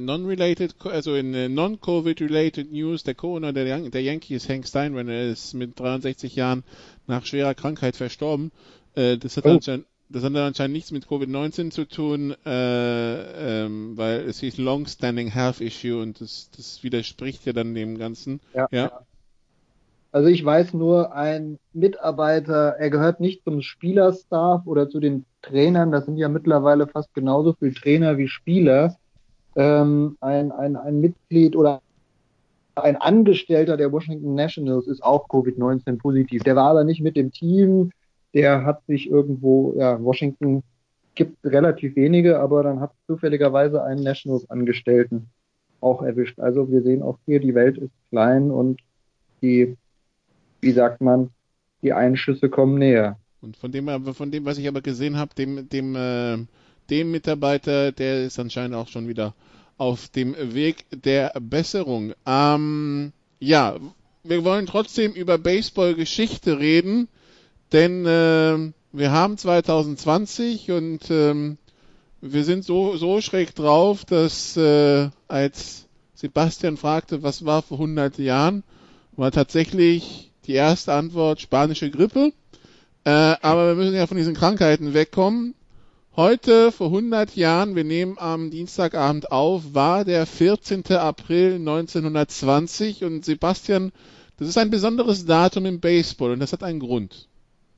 non-Covid-related News, der Co-Owner der Yankees, Hank Steinbrenner, ist mit 63 Jahren nach schwerer Krankheit verstorben. Das hat anscheinend nichts mit Covid-19 zu tun, weil es hieß Long-Standing Health Issue, und das widerspricht ja dann dem Ganzen. Ja. Also ich weiß nur, ein Mitarbeiter, er gehört nicht zum Spielerstaff oder zu den Trainern, das sind ja mittlerweile fast genauso viele Trainer wie Spieler. Ein Mitglied oder ein Angestellter der Washington Nationals ist auch Covid-19 positiv. Der war aber nicht mit dem Team. Der hat sich irgendwo, Washington gibt relativ wenige, aber dann hat zufälligerweise einen Nationals-Angestellten auch erwischt. Also wir sehen auch hier, die Welt ist klein und die Einschüsse kommen näher. Und von dem, was ich aber gesehen habe, dem Mitarbeiter, der ist anscheinend auch schon wieder auf dem Weg der Besserung. Ja, wir wollen trotzdem über Baseball-Geschichte reden, denn wir haben 2020 und wir sind so schräg drauf, dass als Sebastian fragte, was war vor 100 Jahren, war tatsächlich die erste Antwort spanische Grippe. Aber wir müssen ja von diesen Krankheiten wegkommen. Heute, vor 100 Jahren, wir nehmen am Dienstagabend auf, war der 14. April 1920. Und Sebastian, das ist ein besonderes Datum im Baseball und das hat einen Grund.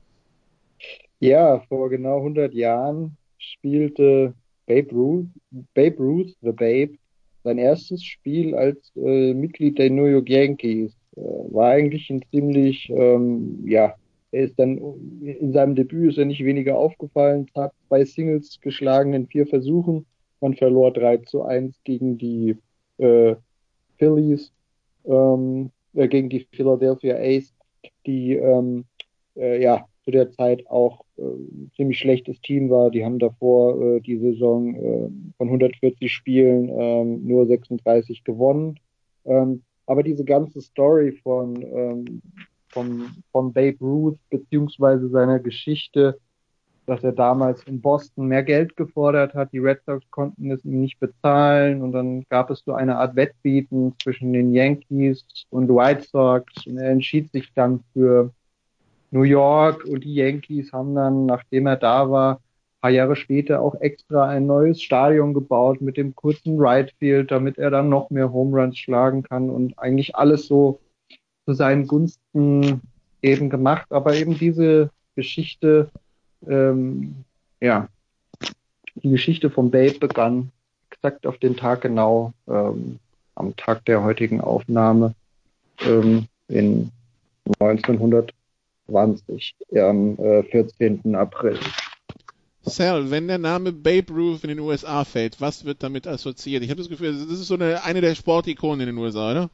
Ja, vor genau 100 Jahren spielte Babe Ruth, the Babe, sein erstes Spiel als Mitglied der New York Yankees. War eigentlich ein ziemlich, er ist dann in seinem Debüt ist er nicht weniger aufgefallen, hat 2 Singles geschlagen in 4 Versuchen. Man verlor 3-1 gegen die Phillies, gegen die Philadelphia A's, die zu der Zeit auch ein ziemlich schlechtes Team war. Die haben davor die Saison von 140 Spielen nur 36 gewonnen. Aber diese ganze Story von Babe Ruth beziehungsweise seiner Geschichte, dass er damals in Boston mehr Geld gefordert hat, die Red Sox konnten es ihm nicht bezahlen und dann gab es so eine Art Wettbieten zwischen den Yankees und White Sox und er entschied sich dann für New York und die Yankees haben dann, nachdem er da war, ein paar Jahre später auch extra ein neues Stadion gebaut mit dem kurzen Right Field, damit er dann noch mehr Home Runs schlagen kann und eigentlich alles so zu seinen Gunsten eben gemacht. Aber eben diese Geschichte, die Geschichte von Babe begann exakt auf den Tag genau, am Tag der heutigen Aufnahme in 1920, am 14. April. Sal, wenn der Name Babe Ruth in den USA fällt, was wird damit assoziiert? Ich habe das Gefühl, das ist so eine der Sportikonen in den USA, oder?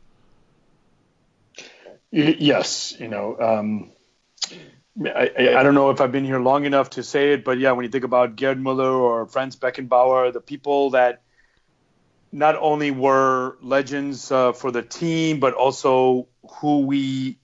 Yes, I don't know if I've been here long enough to say it, but yeah, when you think about Gerd Müller or Franz Beckenbauer, the people that not only were legends for the team, but also who we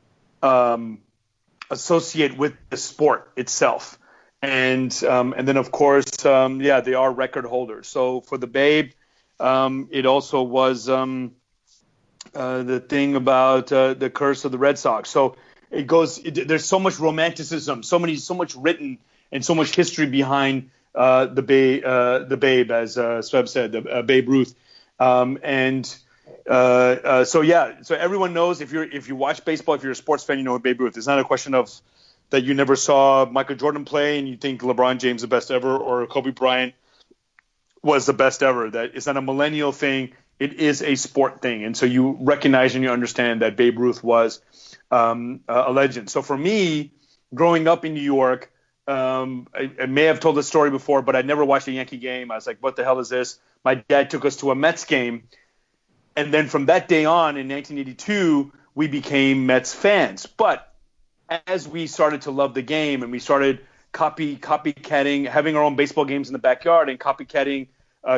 associate with the sport itself. And then, of course, they are record holders. So for the Babe, it also was the thing about the curse of the Red Sox. So there's so much romanticism, so much written, and so much history behind the Babe, as Sveb said, Babe Ruth. So everyone knows if you watch baseball, if you're a sports fan, you know Babe Ruth. It's not a question of that you never saw Michael Jordan play and you think LeBron James the best ever or Kobe Bryant was the best ever. That it's not a millennial thing. It is a sport thing. And so you recognize and you understand that Babe Ruth was a legend. So for me, growing up in New York, I may have told this story before, but I never watched a Yankee game. I was like, what the hell is this? My dad took us to a Mets game. And then from that day on in 1982, we became Mets fans. But as we started to love the game and we started copycatting, having our own baseball games in the backyard and copycatting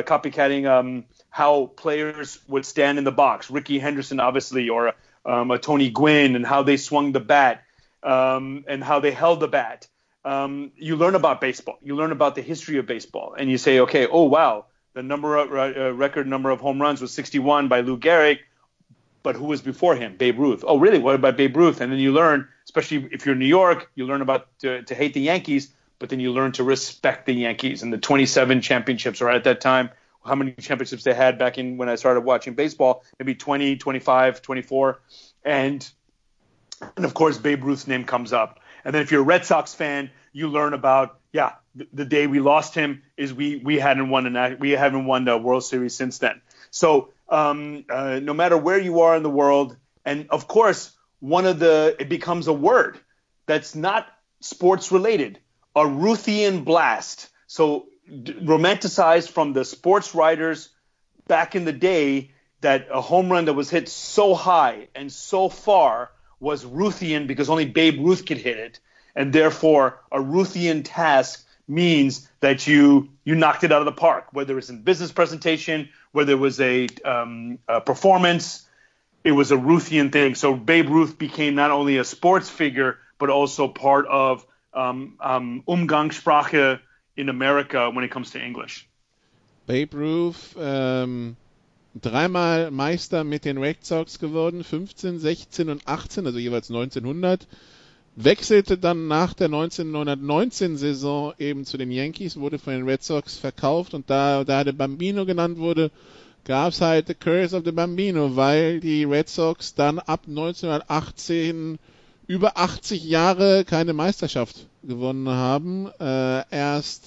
how players would stand in the box, Ricky Henderson, obviously, or a Tony Gwynn, and how they swung the bat and how they held the bat. You learn about baseball. You learn about the history of baseball. And you say, okay, oh, wow, the record number of home runs was 61 by Lou Gehrig. But who was before him? Babe Ruth. Oh, really? What about Babe Ruth? And then you learn, especially if you're in New York, you learn about to hate the Yankees, but then you learn to respect the Yankees and the 27 championships, or at that time, how many championships they had back in when I started watching baseball, maybe 20, 25, 24. And of course, Babe Ruth's name comes up. And then if you're a Red Sox fan, you learn about, the day we lost him is we haven't won the World Series since then. So no matter where you are in the world. And of course, it becomes a word that's not sports related, a Ruthian blast. So romanticized from the sports writers back in the day, that a home run that was hit so high and so far was Ruthian because only Babe Ruth could hit it. And therefore, a Ruthian task means that you knocked it out of the park, whether it's in business presentation, whether it was a performance, it was a Ruthian thing. So Babe Ruth became not only a sports figure, but also part of Umgangssprache in America when it comes to English. Babe Ruth, dreimal Meister mit den Red Sox geworden, 15, 16 und 18, also jeweils 1900. Wechselte dann nach der 1919-Saison eben zu den Yankees, wurde von den Red Sox verkauft und da der Bambino genannt wurde, gab es halt The Curse of the Bambino, weil die Red Sox dann ab 1918 über 80 Jahre keine Meisterschaft gewonnen haben. Erst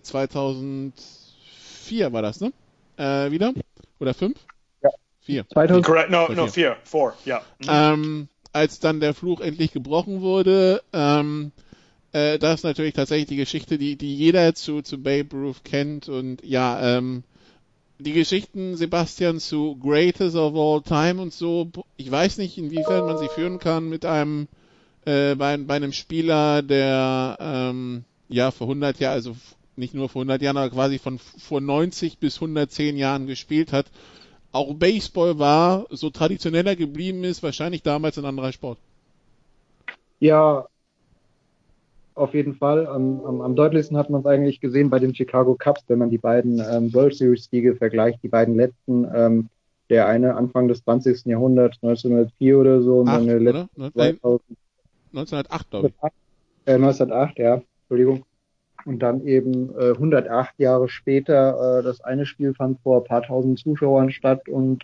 2004 war das, ne? Wieder? Oder 5? Ja. 4. 2000. Correct. No, 4, ja. Als dann der Fluch endlich gebrochen wurde, das ist natürlich tatsächlich die Geschichte, die jeder zu Babe Ruth kennt. Und ja, die Geschichten, Sebastian, zu Greatest of All Time und so, ich weiß nicht, inwiefern man sie führen kann mit einem bei einem Spieler, der vor 100 Jahren, also nicht nur vor 100 Jahren, aber quasi von vor 90 bis 110 Jahren gespielt hat. Auch Baseball war, so traditioneller geblieben ist, wahrscheinlich damals ein anderer Sport. Ja, auf jeden Fall. Am deutlichsten hat man es eigentlich gesehen bei den Chicago Cubs, wenn man die beiden World Series-Siege vergleicht, die beiden letzten, der eine Anfang des 20. Jahrhunderts, 1904 oder so, und dann der letzte 1908, glaube ich. 1908, ja, Entschuldigung. Und dann eben 108 Jahre später, das eine Spiel fand vor ein paar tausend Zuschauern statt und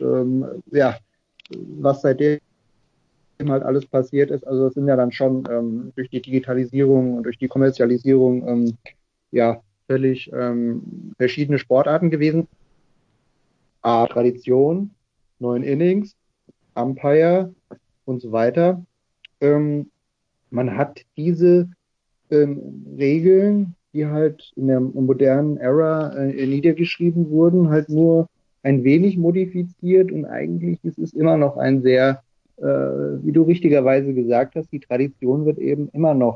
was seitdem halt alles passiert ist, also es sind ja dann schon durch die Digitalisierung und durch die Kommerzialisierung völlig verschiedene Sportarten gewesen. Tradition, 9 Innings, Umpire und so weiter. Man hat diese Regeln, die halt in der modernen Ära niedergeschrieben wurden, halt nur ein wenig modifiziert und eigentlich ist es immer noch ein sehr, wie du richtigerweise gesagt hast, die Tradition wird eben immer noch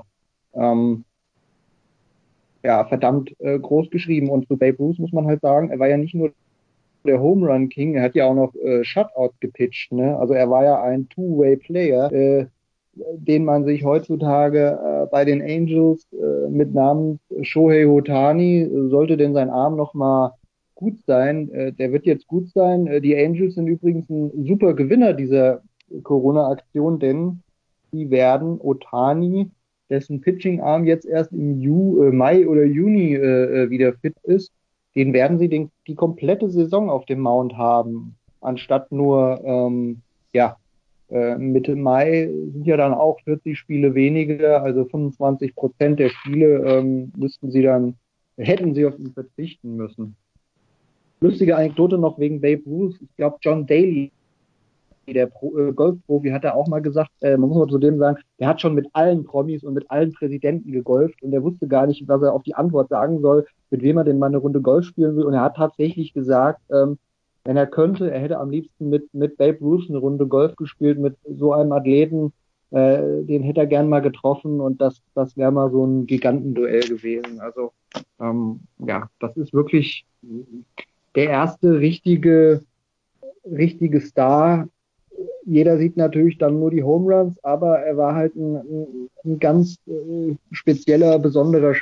verdammt groß geschrieben. Und zu Babe Ruth muss man halt sagen, er war ja nicht nur der Home Run King, er hat ja auch noch Shutouts gepitcht, ne? Also er war ja ein Two-Way-Player, den man sich heutzutage bei den Angels mit Namen Shohei Ohtani, sollte denn sein Arm noch mal gut sein, der wird jetzt gut sein. Die Angels sind übrigens ein super Gewinner dieser Corona-Aktion, denn die werden Ohtani, dessen Pitching-Arm jetzt erst im Mai oder Juni wieder fit ist, den werden sie die komplette Saison auf dem Mount haben, anstatt nur Mitte Mai sind ja dann auch 40 Spiele weniger, also 25% der Spiele hätten sie auf ihn verzichten müssen. Lustige Anekdote noch wegen Babe Ruth. Ich glaube, John Daly, der Golfprofi, hat er auch mal gesagt, man muss mal zu dem sagen, der hat schon mit allen Promis und mit allen Präsidenten gegolft und er wusste gar nicht, was er auf die Antwort sagen soll, mit wem er denn mal eine Runde Golf spielen will. Und er hat tatsächlich gesagt, wenn er könnte, er hätte am liebsten mit Babe Ruth eine Runde Golf gespielt, mit so einem Athleten, den hätte er gern mal getroffen und das wäre mal so ein Gigantenduell gewesen. Also das ist wirklich der erste richtige Star. Jeder sieht natürlich dann nur die Home Runs, aber er war halt ein ganz spezieller, besonderer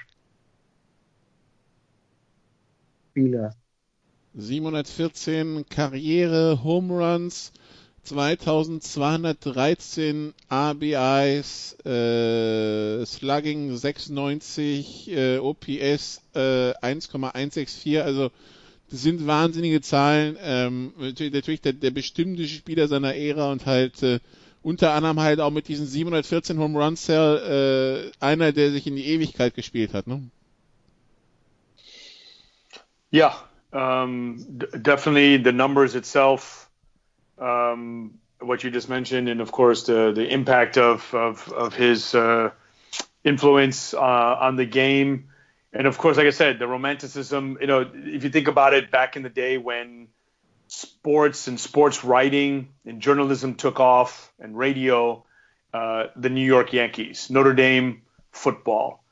Spieler. 714 Karriere Home Runs, 2213 RBIs, Slugging 96, OPS 1,164, also das sind wahnsinnige Zahlen. Natürlich der bestimmte Spieler seiner Ära und halt unter anderem halt auch mit diesen 714 Home Runs einer, der sich in die Ewigkeit gespielt hat, ne? Yeah, definitely the numbers itself what you just mentioned, and of course the impact of his influence on the game, and of course, like I said, the romanticism. If you think about it, back in the day when sports and sports writing and journalism took off, and radio, the New York Yankees, Notre Dame football.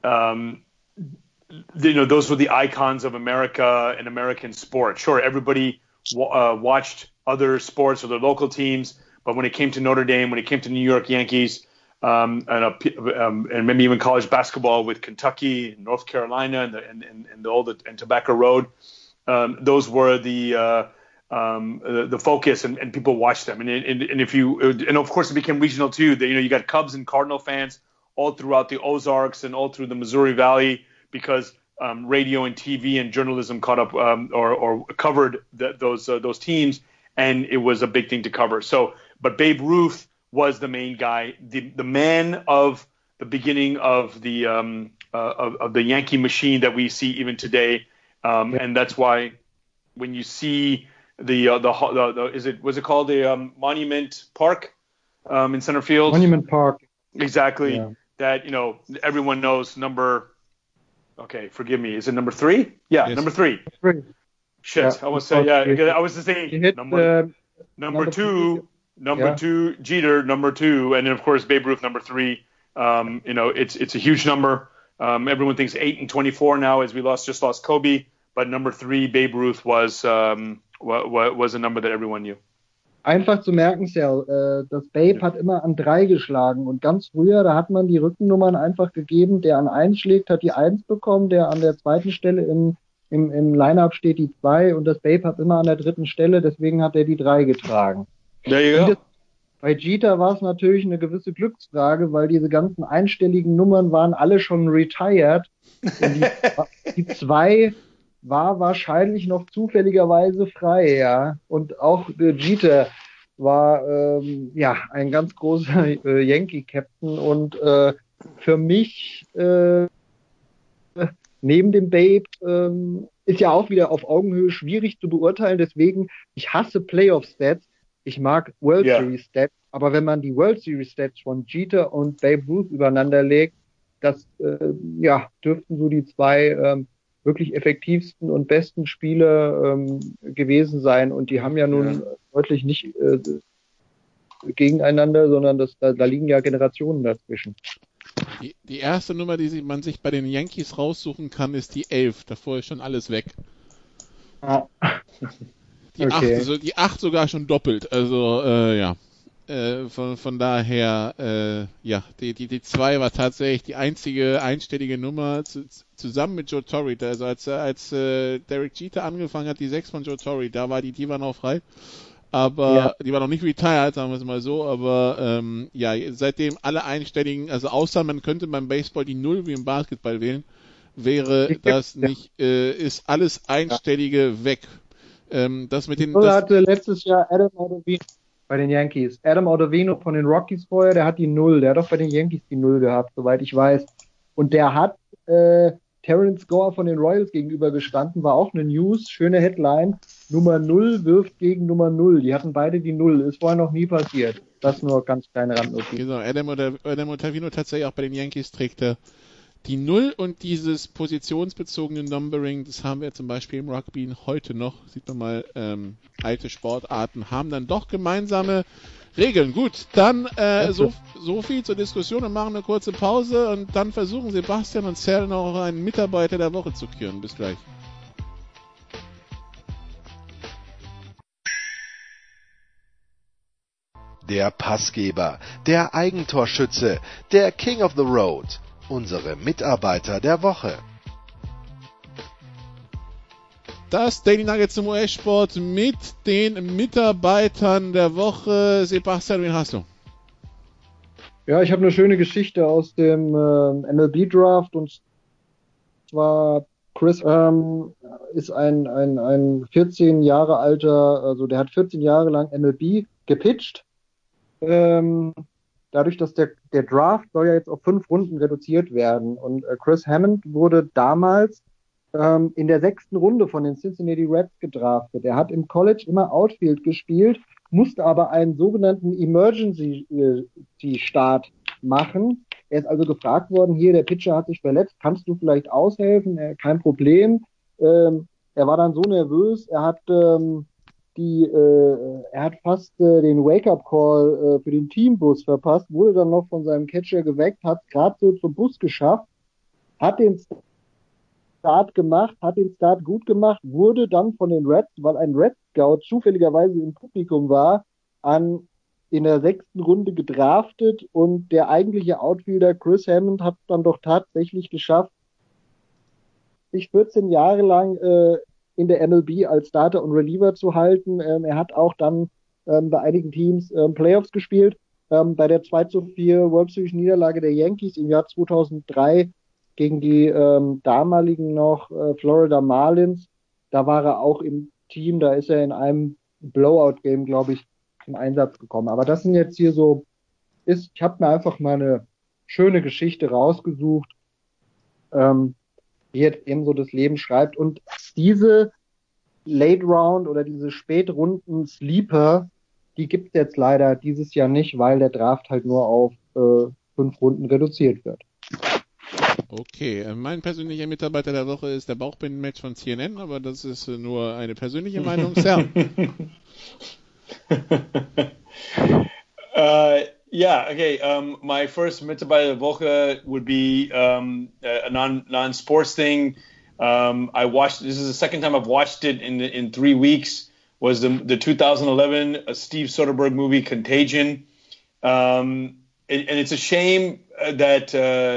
Those were the icons of America and American sport. Sure, everybody watched other sports or their local teams, but when it came to Notre Dame, when it came to New York Yankees, and maybe even college basketball with Kentucky and North Carolina and Tobacco Road, those were the focus, and people watched them. And of course it became regional too. You got Cubs and Cardinal fans all throughout the Ozarks and all through the Missouri Valley, because radio and TV and journalism caught up or covered those teams, and it was a big thing to cover. But Babe Ruth was the main guy, the man of the beginning of the Yankee machine that we see even today, and that's why when you see was it called the Monument Park in center field? Monument Park. Exactly. Yeah. That everyone knows number. Okay, forgive me. Is it number 3? Yeah, yes. Number 3. Shit, yeah, I was saying. Yeah, I was just saying number 2. Number 2, Jeter, number 2, and then of course Babe Ruth, number 3. It's a huge number. Everyone thinks 8 and 24 now, as we just lost Kobe, but number 3, Babe Ruth was a number that everyone knew. Einfach zu merken, Sal, das Babe hat immer an 3 geschlagen, und ganz früher, da hat man die Rückennummern einfach gegeben, der an 1 schlägt, hat die 1 bekommen, der an der 2. Stelle im Line-Up steht die 2, und das Babe hat immer an der 3. Stelle, deswegen hat er die 3 getragen. Ja. Bei Jeter war es natürlich eine gewisse Glücksfrage, weil diese ganzen einstelligen Nummern waren alle schon retired, und die 2 war wahrscheinlich noch zufälligerweise frei, ja. Und auch Jeter war ein ganz großer Yankee-Captain, und für mich neben dem Babe ist ja auch wieder auf Augenhöhe schwierig zu beurteilen, deswegen, ich hasse Playoff-Stats, ich mag World Series-Stats, aber wenn man die World Series-Stats von Jeter und Babe Ruth übereinander legt, das dürften so die 2 wirklich effektivsten und besten Spiele gewesen sein, und die haben ja nun deutlich nicht gegeneinander, sondern da liegen ja Generationen dazwischen. Die erste Nummer, die man sich bei den Yankees raussuchen kann, ist die 11. Davor ist schon alles weg. Ah. Die 8, die 8 sogar schon doppelt. Also von daher, die 2 war tatsächlich die einzige einstellige Nummer zusammen mit Joe Torre. Also als Derek Jeter angefangen hat, die 6 von Joe Torre, da war die war noch frei. Aber die war noch nicht retired, sagen wir es mal so. Aber seitdem alle einstelligen, also außer man könnte beim Baseball die 0 wie im Basketball wählen, wäre das nicht, ist alles Einstellige weg. Das mit den. Hatte letztes Jahr Adam Ottavino bei den Yankees. Adam Ottavino von den Rockies vorher, der hat die 0. Der hat doch bei den Yankees die 0 gehabt, soweit ich weiß. Und der hat Terrence Gore von den Royals gegenüber gestanden, war auch eine News, schöne Headline. Nummer 0 wirft gegen Nummer 0. Die hatten beide die 0. Ist vorher noch nie passiert. Das nur ganz kleine Randnotiz. Genau, Adam Ottavino tatsächlich auch bei den Yankees trägt er die 0, und dieses positionsbezogene Numbering, das haben wir zum Beispiel im Rugby heute noch. Sieht man mal, alte Sportarten haben dann doch gemeinsame Regeln. Gut, dann so viel zur Diskussion, und machen eine kurze Pause, und dann versuchen Sebastian und Sal noch einen Mitarbeiter der Woche zu küren. Bis gleich. Der Passgeber, der Eigentorschütze, der King of the Road. Unsere Mitarbeiter der Woche. Das Daily Nugget zum US-Sport mit den Mitarbeitern der Woche. Sebastian, wen hast du? Ja, ich habe eine schöne Geschichte aus dem MLB-Draft, und zwar Chris ist ein 14 Jahre alter, also der hat 14 Jahre lang MLB gepitcht. Dadurch, dass der Draft soll ja jetzt auf 5 Runden reduziert werden. Und Chris Hammond wurde damals in der 6. Runde von den Cincinnati Reds gedraftet. Er hat im College immer Outfield gespielt, musste aber einen sogenannten Emergency-Start machen. Er ist also gefragt worden, hier, der Pitcher hat sich verletzt, kannst du vielleicht aushelfen? Kein Problem. Er war dann so nervös, er hat fast den Wake-up-Call für den Teambus verpasst, wurde dann noch von seinem Catcher geweckt, hat es gerade so zum Bus geschafft, hat den Start gemacht, hat den Start gut gemacht, wurde dann von den Reds, weil ein Red Scout zufälligerweise im Publikum war, in der 6. Runde gedraftet und der eigentliche Outfielder Chris Hammond hat dann doch tatsächlich geschafft, sich 14 Jahre lang in der MLB als Starter und Reliever zu halten. Er hat auch dann bei einigen Teams Playoffs gespielt. Bei der 2:4 World Series Niederlage der Yankees im Jahr 2003 gegen die damaligen noch Florida Marlins, da war er auch im Team, da ist er in einem Blowout-Game, glaube ich, zum Einsatz gekommen. Aber das sind jetzt hier so, ich habe mir einfach mal eine schöne Geschichte rausgesucht, die jetzt eben so das Leben schreibt. Und diese Late Round oder diese Spätrunden Sleeper, die gibt es jetzt leider dieses Jahr nicht, weil der Draft halt nur auf 5 Runden reduziert wird. Okay, mein persönlicher Mitarbeiter der Woche ist der Bauchbindenmatch von CNN, aber das ist nur eine persönliche Meinung. Sam. Yeah, okay. My first Mitarbeiter der Woche would be a non-sports thing. I watched. This is the second time I've watched it in 3 weeks. Was the 2011 Steve Soderbergh movie Contagion, and it's a shame that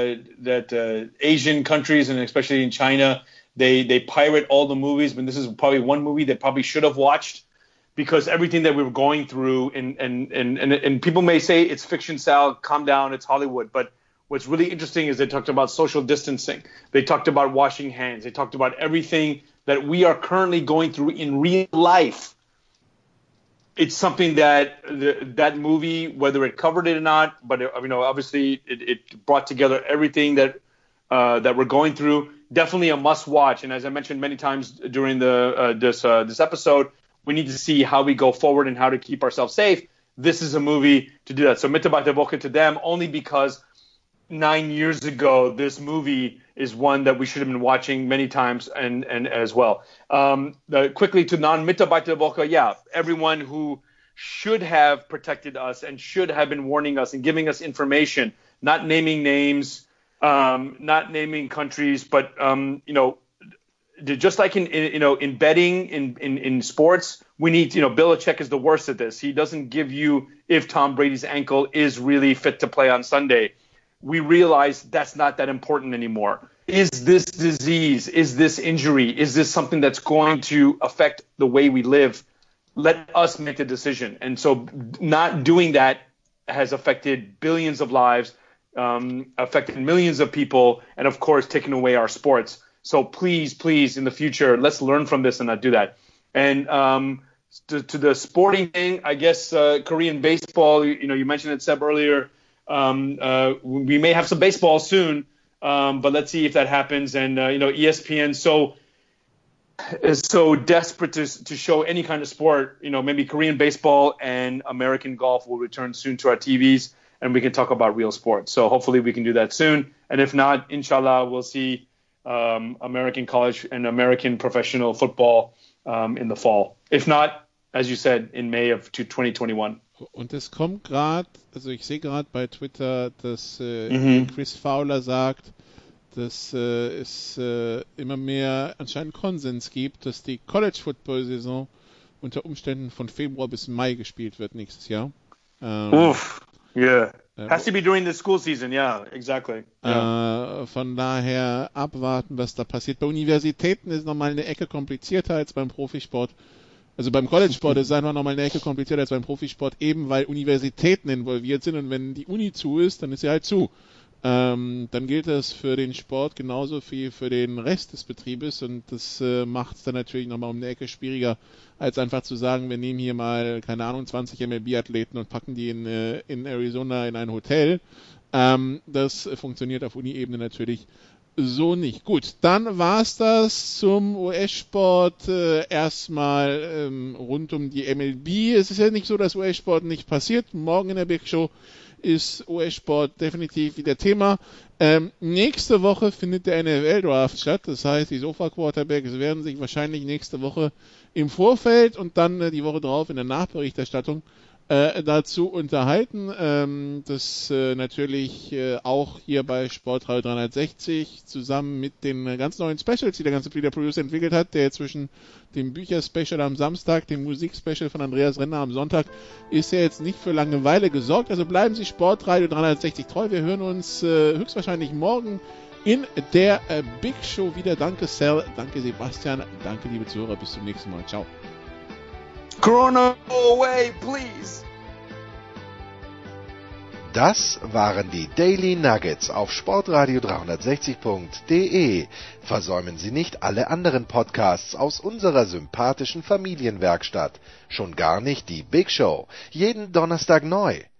Asian countries and especially in China they pirate all the movies. But this is probably one movie they probably should have watched, because everything that we were going through and people may say it's fiction style, calm down, it's Hollywood, but what's really interesting is they talked about social distancing. They talked about washing hands. They talked about everything that we are currently going through in real life. It's something that that movie, whether it covered it or not, but obviously it brought together everything that we're going through. Definitely a must watch. And as I mentioned many times during this episode, we need to see how we go forward and how to keep ourselves safe. This is a movie to do that. So Mitarbeiter der Woche to them, only because 9 years ago, this movie is one that we should have been watching many times and as well. Quickly to non-Mitarbeiter der Woche, yeah, everyone who should have protected us and should have been warning us and giving us information, not naming names, not naming countries, but just like in betting in sports, we need Belichick is the worst at this. He doesn't give you if Tom Brady's ankle is really fit to play on Sunday. We realize that's not that important anymore. Is this disease, is this injury, is this something that's going to affect the way we live? Let us make the decision. And so not doing that has affected billions of lives, affected millions of people, and of course taken away our sports. So please, in the future, let's learn from this and not do that. And to the sporting thing, I guess Korean baseball, you mentioned it, Seb, earlier. We may have some baseball soon, but let's see if that happens. And ESPN is so desperate to show any kind of sport. Maybe Korean baseball and American golf will return soon to our TVs, and we can talk about real sports. So hopefully we can do that soon. And if not, inshallah, we'll see American college and American professional football in the fall. If not, as you said, in May of 2021. Und es kommt gerade, also ich sehe gerade bei Twitter, dass Chris Fowler sagt, dass es immer mehr anscheinend Konsens gibt, dass die College-Football-Saison unter Umständen von Februar bis Mai gespielt wird nächstes Jahr. Yeah. Has to be during the school season, yeah, exactly. Yeah. Von daher abwarten, was da passiert. Bei Universitäten ist nochmal eine Ecke komplizierter als beim Profisport. Also beim College-Sport ist es einfach nochmal eine Ecke komplizierter als beim Profisport, eben weil Universitäten involviert sind, und wenn die Uni zu ist, dann ist sie halt zu. Dann gilt das für den Sport genauso wie für den Rest des Betriebes, und das macht es dann natürlich nochmal um eine Ecke schwieriger, als einfach zu sagen, wir nehmen hier mal, keine Ahnung, 20 MLB-Athleten und packen die in Arizona in ein Hotel. Das funktioniert auf Uni-Ebene natürlich so nicht. Gut, dann war's das zum US-Sport erstmal rund um die MLB. Es ist ja nicht so, dass US-Sport nicht passiert. Morgen in der Big Show ist US-Sport definitiv wieder Thema. Nächste Woche findet der NFL-Draft statt. Das heißt, die Sofa-Quarterbacks werden sich wahrscheinlich nächste Woche im Vorfeld und dann die Woche drauf in der Nachberichterstattung dazu unterhalten. Das natürlich auch hier bei Sportradio 360 zusammen mit den ganz neuen Specials, die der ganze Free Producer entwickelt hat, der zwischen dem Bücher-Special am Samstag, dem Musik-Special von Andreas Renner am Sonntag, ist ja jetzt nicht für Langeweile gesorgt. Also bleiben Sie Sportradio 360 treu. Wir hören uns höchstwahrscheinlich morgen in der Big Show wieder. Danke Sal, danke Sebastian, danke liebe Zuhörer, bis zum nächsten Mal. Ciao. Corona, go away, please. Das waren die Daily Nuggets auf Sportradio 360.de. Versäumen Sie nicht alle anderen Podcasts aus unserer sympathischen Familienwerkstatt. Schon gar nicht die Big Show. Jeden Donnerstag neu.